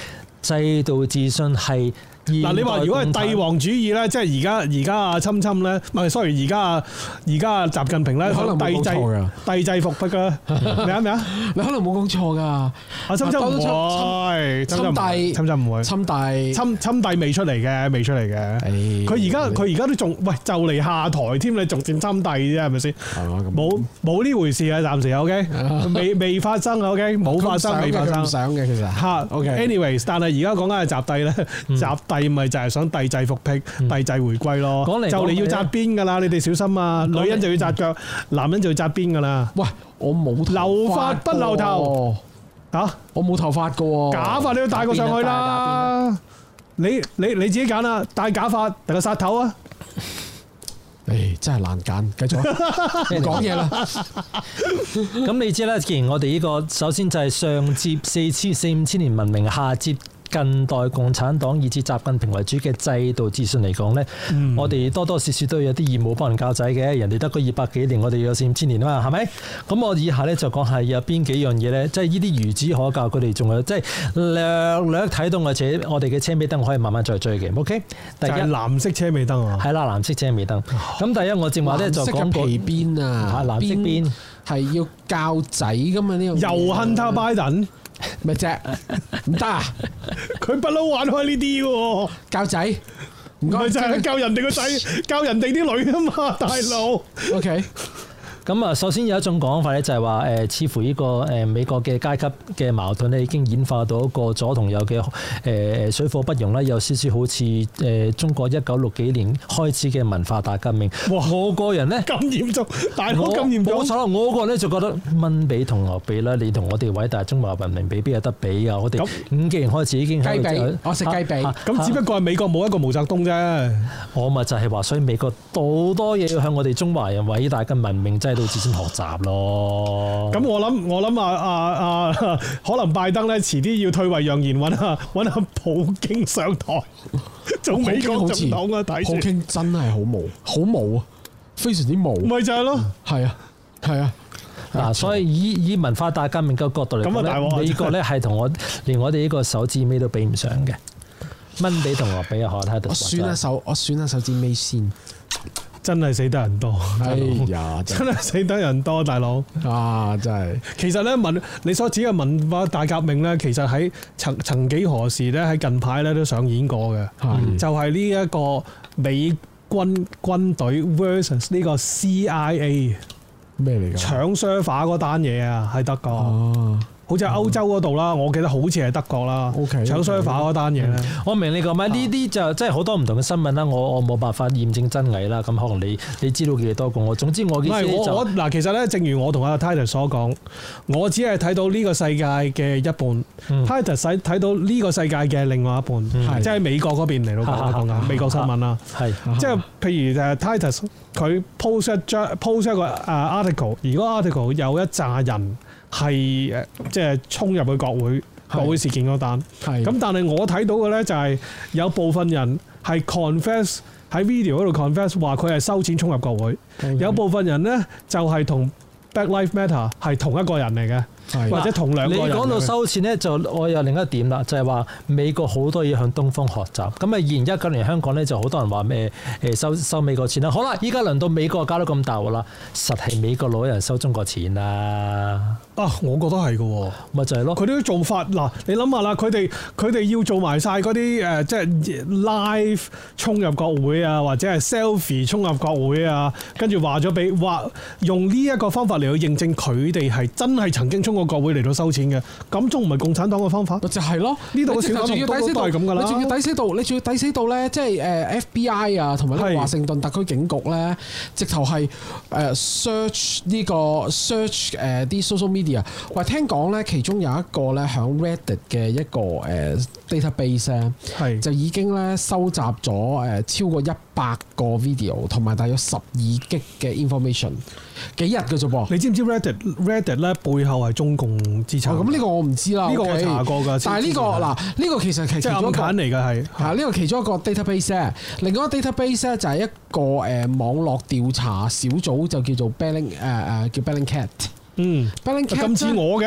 Speaker 3: 制度自信係。
Speaker 1: 嗱，你話如果係帝王主義咧，即係而家而家啊，侵侵咧，唔係 sorry，而家啊，而家啊，習近平咧，
Speaker 2: 可能冇講錯㗎，
Speaker 1: 帝制復辟㗎，咩啊咩啊？
Speaker 2: 你可能冇講錯㗎，啊
Speaker 1: 侵侵唔會，
Speaker 2: 侵帝，
Speaker 1: 侵侵唔會，
Speaker 2: 侵帝，
Speaker 1: 侵侵帝未出嚟嘅，未出嚟嘅。佢而家佢而家都仲喂就嚟下台添，你仲佔侵帝啫，係咪先？冇冇呢回事啊，暫時 OK，未未發生 OK，冇發生未發生。
Speaker 2: 想嘅其實
Speaker 1: 嚇 OK，anyways，但係而家講緊係習帝咧，習帝咪就係想帝制復辟、帝制回歸咯。就嚟要紮辮㗎啦，你哋小心啊！女人就要紮腳，男人就要紮辮㗎啦。
Speaker 2: 喂，我冇
Speaker 1: 留髮不留頭嚇，
Speaker 2: 我冇頭髮㗎喎，
Speaker 1: 假髮你要戴個上去啦。你你你自己揀啦，戴假髮定個殺頭啊！
Speaker 2: 誒，真係難揀，繼續唔講嘢啦。
Speaker 3: 咁你知啦，既然我哋呢個首先就係上接四千四五千年文明，下接近代共產黨以至習近平為主嘅制度自信嚟講咧，嗯、我哋多多少少都有啲義務幫人教仔嘅。人哋得個二百幾年，我哋有四五千年啊嘛，係咪？咁我以下咧就講係有邊幾樣嘢咧，即係呢啲孺子可教，佢哋仲有即係略略睇到，而且我哋嘅車尾燈可以慢慢再追嘅。OK， 第一就係
Speaker 1: 藍色車尾燈啊，
Speaker 3: 係啦，藍色車尾燈。咁、哦、第一我正話咧就講過
Speaker 2: 皮邊啊，
Speaker 3: 藍色邊
Speaker 2: 係要教仔噶嘛呢樣。
Speaker 1: 又 Hunter Biden。
Speaker 2: 咩啫？唔得啊！
Speaker 1: 佢不嬲玩開呢啲喎，
Speaker 2: 教仔
Speaker 1: 唔係就係教人哋個仔，教人哋啲女啊嘛，大佬。OK。
Speaker 3: 咁啊，首先有一種講法咧，就係話誒，似乎呢個誒美國嘅階級嘅矛盾咧，已經演化到一個左同右嘅誒水火不容啦，有少少好似誒中國一九六幾年開始嘅文化大革命。哇！我個人咧
Speaker 1: 咁嚴重，大佬咁嚴重。
Speaker 3: 冇錯啦，我個人咧就覺得蚊比同牛比啦，你同我哋偉大中華文明比，邊有得比啊？我哋五幾年開始已經
Speaker 2: 雞髀，我食雞髀。
Speaker 1: 咁只不過係美國冇一個毛澤東啫。
Speaker 3: 我咪就係話，所以美國好多嘢要向我哋中華人偉大嘅文明制度自身學習咯。咁
Speaker 1: 我諗我諗啊啊啊，可能拜登咧遲啲要退位讓賢，揾下揾下普京上台做美國總統啊！睇
Speaker 2: 普京真係好無好無啊，非常之無。
Speaker 1: 咪就係咯，
Speaker 2: 係啊係啊。
Speaker 3: 嗱，所以以以文化大革命嘅角度嚟講咧，美國咧係同我連我哋呢個手指尾都比唔上嘅。蚊比同我比啊，我睇到。我選
Speaker 2: 一手，我選一手指尾先。
Speaker 1: 真係死得人多，
Speaker 2: 哎呀！
Speaker 1: 真係死得人多，大佬
Speaker 2: 啊！真係。其
Speaker 1: 實咧文，你所指嘅文化大革命咧，其實喺曾曾幾何時咧，喺近排咧都上演過嘅。係。就係呢一個美軍軍隊 versus 呢個 C I A
Speaker 2: 咩嚟㗎？
Speaker 1: 搶 server 嗰單嘢啊，喺德國。哦。好似係歐洲嗰度啦，我記得好似係德國啦。
Speaker 2: OK，
Speaker 1: 搶 server 嗰單嘢咧，
Speaker 3: 我明你講咩？呢啲就即係好多唔同嘅新聞啦。我我冇辦法驗證真偽啦。咁可能你你知道嘅嘢多過我。總之我嘅意思就
Speaker 1: 我嗱，其實咧，正如我同阿 Titus 所講，我只係睇到呢個世界嘅一半。嗯、Titus 睇睇到呢個世界嘅另外一半，嗯、即係美國嗰邊嚟到講講緊美國新聞啦。係即係譬如誒 Titus 佢 post 一張 post 一個誒 article，如果 article 有一紮人。係誒，即係衝入去國會國會事件嗰單。咁但係我睇到嘅咧就係有部分人係 confess 喺 video 嗰度 confess 話佢係收錢衝入國會。Okay. 有部分人咧就係同 Black Lives Matter 係同一個人嚟嘅。或者同兩個人。你講到收錢咧，就我有另一點啦，就係話美國好多嘢向東方學習。咁啊，二零一九年香港咧就好多人話咩誒收收美國錢啦。好啦，依家輪到美國搞到咁大鑊啦，實係美國攞人收中國錢啦。啊，我覺得係嘅，咪就係咯。佢啲做法嗱，你諗下啦，佢哋佢哋要做埋晒嗰啲誒，即係 live 衝入國會啊，或者係 selfie 衝入國會啊，跟住話咗俾話用呢一個方法嚟去認證佢哋係真係曾經衝過國會嚟到收錢嘅，咁仲唔係共產黨嘅方法？就係咯，呢度嘅小黨都都係咁噶啦。你仲要抵死到，你仲要抵死到咧，即係誒 F B I 啊，同埋呢個華盛頓特區警局咧，直頭係誒 search 呢個 search 誒啲 social media。喂，聽講咧，其中有一個咧，響 Reddit 嘅一個誒 database 咧，係就已經咧收集咗誒超過一百個 video，同埋大約十二 G 嘅 information， 幾日嘅啫噃？你知唔知 Reddit Reddit 咧背後係中共資產？咁呢個我唔知啦，呢個我查過㗎。但係呢個嗱，呢個其實係其中一個嚟㗎，係嚇呢個其中一個 database 咧。另外一個 database 咧就係一個誒網絡調查小組，就叫做 Belling 誒誒叫 Bellingcat。嗯，咁似我嘅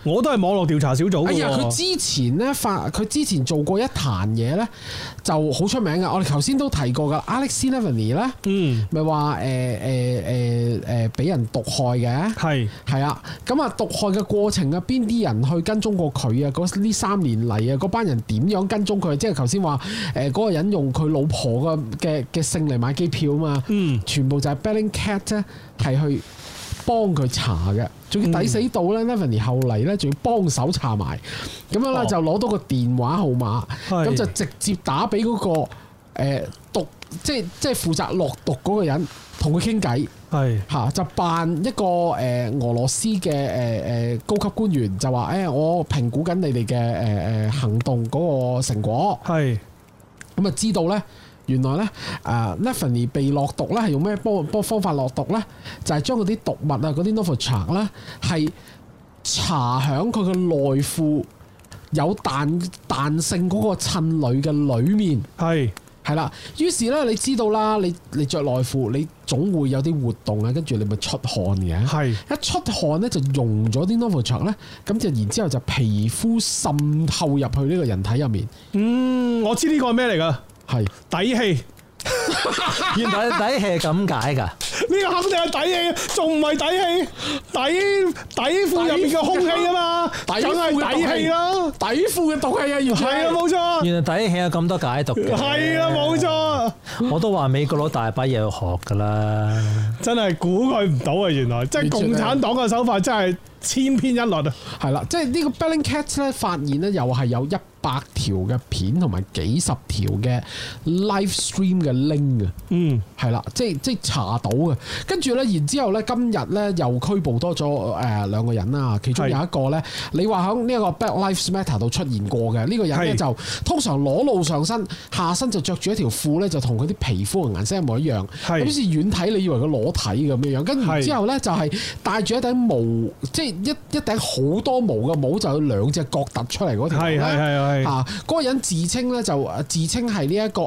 Speaker 1: 我都係網絡調查小組。
Speaker 2: 哎呀，佢之前咧發，佢之前做過一壇嘢咧，就好出名嘅。我哋頭先都提過噶 ，Alexei Navalny 咧，嗯，咪話誒誒誒誒俾人毒害嘅，係係啊。咁啊，毒害嘅過程啊，邊啲人去跟蹤過佢啊？嗰呢三年嚟啊，嗰班人點樣跟蹤佢？即係頭先話誒嗰個人用佢老婆嘅嘅嘅姓嚟買機票啊嘛，嗯，全部就係 Bellingcat 咧，係去幫佢查嘅。仲要抵死到咧 Navalny 後嚟咧，仲要幫手查埋，咁樣咧就攞到個電話號碼，咁、哦、就直接打俾嗰、那個、呃、毒，即係即係負責落毒嗰個人，同佢傾偈，係嚇就扮一個誒、呃、俄羅斯嘅誒誒高級官員，就話誒、欸、我評估緊你哋嘅誒誒行動嗰個成果，係咁啊知道咧。原來咧，誒 Navalny 被落毒咧，係用咩幫幫方法落毒咧？就係、是、將嗰啲毒物啊，嗰啲 Novichok 咧，係搽響佢嘅內褲有彈彈性嗰個襯裏嘅裏面，係係啦。於是咧，你知道啦，你你著內褲，你總會有啲活動啊，跟住你咪出汗嘅，係一出汗咧就溶咗啲 Novichok 咧，咁就然之後就皮膚滲透入去呢個人體入面。嗯，我知呢個係咩嚟㗎？係底氣，原來底氣係咁解㗎？呢個肯定係底氣，仲唔係底氣？底底褲入面嘅空氣啊嘛，梗係底氣啦！底褲嘅毒氣啊，原來係啊，冇錯。原來底氣有咁多解讀嘅，係啊，冇錯。我都話美國佬大把嘢要學㗎啦，真係估佢唔到啊！原來即係共產黨嘅手法真係千篇一律啊！係啦，即係呢個 Bellingcat 咧發現咧，又係有一百條嘅片同埋幾十條嘅 live stream 嘅 link 啊，嗯，係啦，即係即係查到嘅。跟住咧，然之後咧，今日咧又拘捕多咗誒兩個人啦。其中有一個咧，你話喺呢一個 Black Lives Matter 度出現過嘅呢、呢個人咧，就通常裸露上身，下身就着住一條褲咧，就同佢啲皮膚嘅顏色一模一樣。係，好似遠睇你以為佢裸體咁樣樣。跟住之後咧，就係戴住一頂毛，即係一一頂好多毛嘅帽，就有兩隻角突出嚟嗰條。係係係。啊！嗰個人自稱咧就自稱係呢一個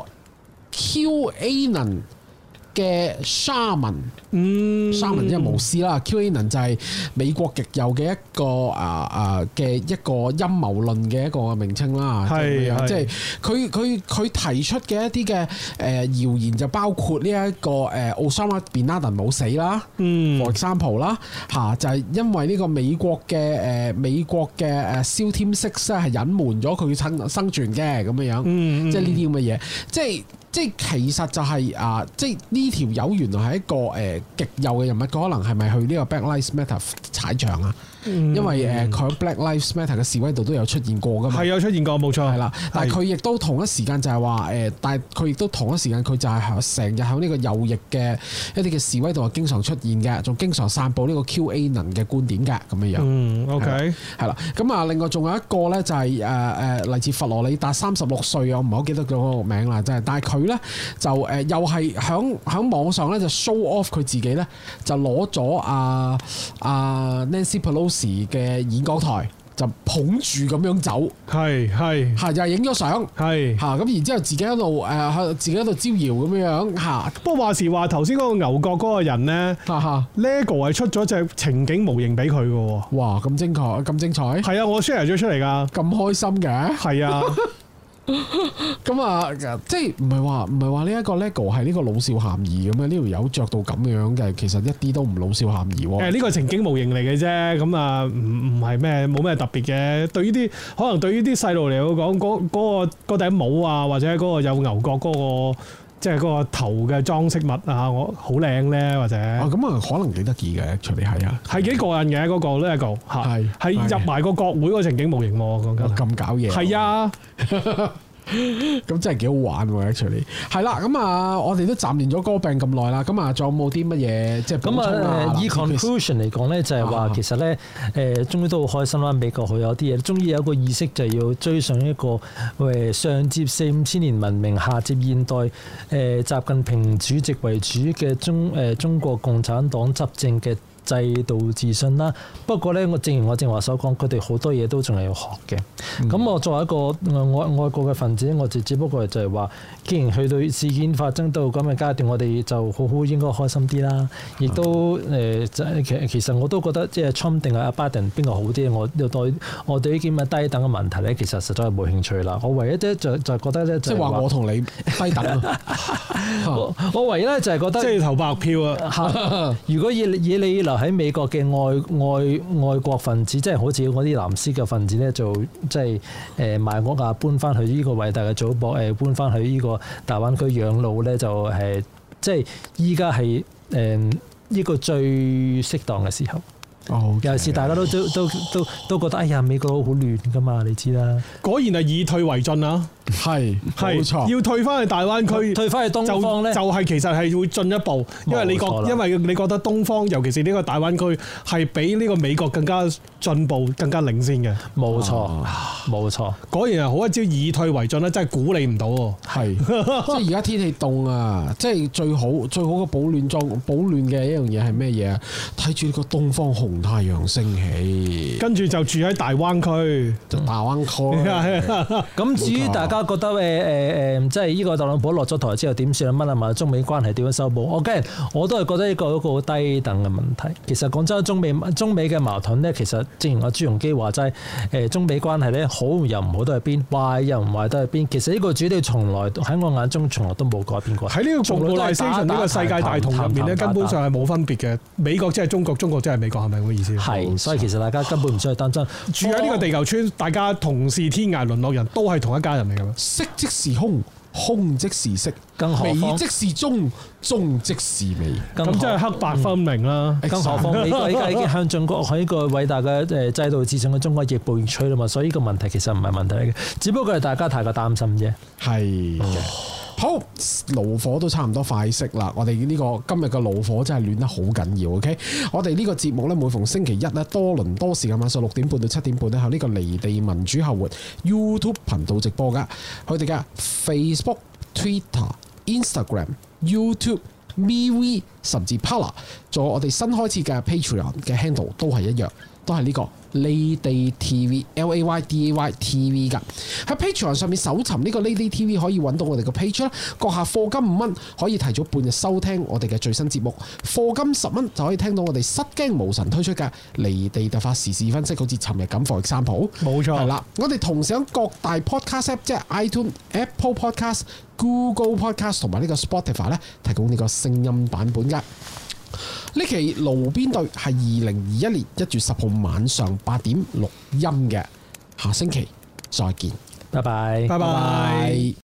Speaker 2: QAnon 嘅 Shaman， 嗯 ，Shaman 即係巫師啦 ，QAnon 就係美國極右嘅一個啊啊嘅一個陰謀論嘅一個名稱啦，係即係佢佢佢提出嘅一啲嘅誒謠言就包括呢一個誒 Osama Bin Laden 冇死啦，嗯 ，for example 啦，嚇就係因為呢個美國嘅誒美國嘅誒 SEAL Team Six 咧係隱瞞咗佢生生存嘅咁樣樣，嗯，即係呢啲咁嘅嘢，即係。即係其實就係、是、啊，即係呢條友原來係一個誒、呃、極右嘅人物，佢可能係咪去呢個 Black Lives Matter 踩場啊？嗯、因為誒佢喺 Black Lives Matter 嘅示威度都有出現過㗎嘛，係有出現過冇錯，係啦。但係佢亦都同一時間就係話誒，但係佢亦都同一時間佢就係成日喺呢個右翼嘅一啲嘅示威度係經常出現嘅，仲經常散佈呢個 QAnon 嘅觀點㗎咁樣樣。嗯 ，OK，係啦。咁啊，另外仲有一個咧就係誒誒嚟自佛羅里達三十六歲啊，我唔係好記得咗嗰個名啦，真係。但係佢咧就誒、呃、又係喺喺網上咧就 show off 佢自己咧就攞咗啊啊 Nancy Pelosi 嘅演講台就捧住咁樣走，係係係又影咗相，係嚇咁然之後自己喺度誒自己喺度招搖咁樣嚇。不過話時話頭先嗰個牛角嗰個人咧，Lego 係出咗隻情景模型俾佢嘅喎。哇！咁精彩咁精彩，係啊！我 share 咗出嚟㗎，咁開心嘅，係啊。咁啊，即係唔係話唔係話呢一個 LEGO 係呢個老少咸宜咁樣？呢條友着到咁樣嘅，其實一啲都唔老少咸宜喎。誒，呢個情景模型嚟嘅啫，咁啊，唔唔係咩，冇咩特別嘅。對於啲可能對於啲細路嚟講，嗰嗰個嗰頂帽啊，或者嗰個有牛角嗰個，即係嗰個頭嘅裝飾物啊，我好靚咧，或者啊，咁啊，可能幾得意嘅，除非係啊，係幾過癮嘅嗰個 LEGO 嚇，係係入埋個國會個情景模型喎，講緊咁搞嘢，係啊。咁真係幾好玩喎 actually 係啦，咁啊，我哋都暫連咗歌病咁耐啦，咁啊，仲有冇啲乜嘢即係補充啊？以 conclusion 嚟講咧，就係話其實咧，誒，終於都好開心啦！美國佢有啲嘢，終於有一個意識就係要追上一個誒上接四五千年文明，下接現代誒習近平主席為主嘅中誒中國共產黨執政嘅
Speaker 3: 制度自信啦。不過咧，我正如我正話所講，佢哋好多嘢都仲係要學嘅。咁、嗯、我作為一個外外國嘅分子，我就只不過就係話，既然去到事件發生到咁嘅階段，我哋就好好應該開心啲啦。亦都誒，其、呃、其實我都覺得即係 Trump 定係阿拜登邊個好啲？我對我對呢啲咁嘅低等嘅問題咧，其實實在係冇興趣啦。我唯一咧就就覺得咧，
Speaker 2: 即係話我同你低等。
Speaker 3: 我我唯一咧就係覺得，
Speaker 1: 即係投白票啊！
Speaker 3: 如果以以你留喺美國嘅外外外國分子，即係好似嗰啲藍絲嘅分子咧，就即係誒賣屋啊，搬翻去呢個偉大嘅祖國，誒搬翻去呢個大灣區養老咧，就係即係依家係誒呢個最適當嘅時候。
Speaker 2: 哦，
Speaker 3: 尤其是大家都都都都都覺得，哎呀，美國好亂噶嘛，你知啦。
Speaker 1: 果然係以退為進啊！
Speaker 2: 係，冇錯。
Speaker 1: 要退翻去大灣區，
Speaker 3: 退翻去東方咧，
Speaker 1: 就係、是、其實係會進一步，因為你覺因為你覺得東方，尤其是呢個大灣區係比呢個美國更加進步、更加領先嘅。
Speaker 3: 冇錯，冇錯。
Speaker 1: 果然係好一招以退為進咧，真係估你唔到喎。
Speaker 2: 係，即係而家天氣凍啊！即係最好最好嘅保暖裝保暖嘅一樣嘢係咩嘢啊？睇住呢個東方紅太陽升起，
Speaker 1: 跟住就住喺大灣區，
Speaker 2: 就大灣區。
Speaker 3: 咁至於大家覺得誒誒誒，即係呢個特朗普落咗台之後點算啊？乜啊嘛？中美關係點樣修補？我梗係我都係覺得呢個一個好低等嘅問題。其實講真，中美中美嘅矛盾咧，其實正如阿朱鎔基話齋，誒中美關係咧好又唔好都係邊，壞又唔壞都係邊。其實呢個主調從來喺我眼中從來都冇改變過。
Speaker 1: 喺呢個 globalization 呢個世界大同入面咧，根本上係冇分別嘅。美國即係中國，中國即係美國，係咪咁嘅意思？
Speaker 3: 係，所以其實大家根本唔需要擔心。
Speaker 1: 住喺呢個地球村，大家同是天涯淪落人，都係同一家人嚟㗎嘛。
Speaker 2: 色即是空，空即是色，美即是中，中即是美。
Speaker 1: 咁即係黑白分明啦。
Speaker 3: 更何況美國依家已經向中國喺一個偉大嘅誒制度自信嘅中國亦步亦趨啦嘛。所以呢個問題其實唔係問題嚟嘅，只不過係大家太過擔心啫。
Speaker 2: 係。好，爐火都差唔多快熄啦。我哋呢個今日嘅爐火真係暖得好緊要。OK，我哋呢個節目咧，每逢星期一咧，多倫多時間晚上六點半到七點半咧，喺呢個離地民主後援 YouTube 頻道直播噶。佢哋嘅 Facebook、Twitter、Instagram、YouTube、MeWe 甚至 Parler， 仲有我哋新開設嘅 Patreon 嘅 handle 都係一樣，都係呢個Lady T V L A Y D A Y T V 噶。喺 Patreon 上面搜尋呢個 Lady T V 可以揾到我哋個 page 啦。閣下課金五蚊可以提早半日收聽我哋嘅最新節目，課金十蚊就可以聽到我哋失驚無神推出嘅離地突發時事分析，好似尋日咁 for example。冇錯，係啦。我哋同時喺各大 podcast app 即係 iTunes、Apple Podcast、Google Podcast 同埋呢個 Spotify 咧提供呢個聲音版本嘅。呢期爐邊對係二零二一年一月十號晚上八點錄音嘅，下星期再見，
Speaker 3: 拜拜，
Speaker 1: 拜拜。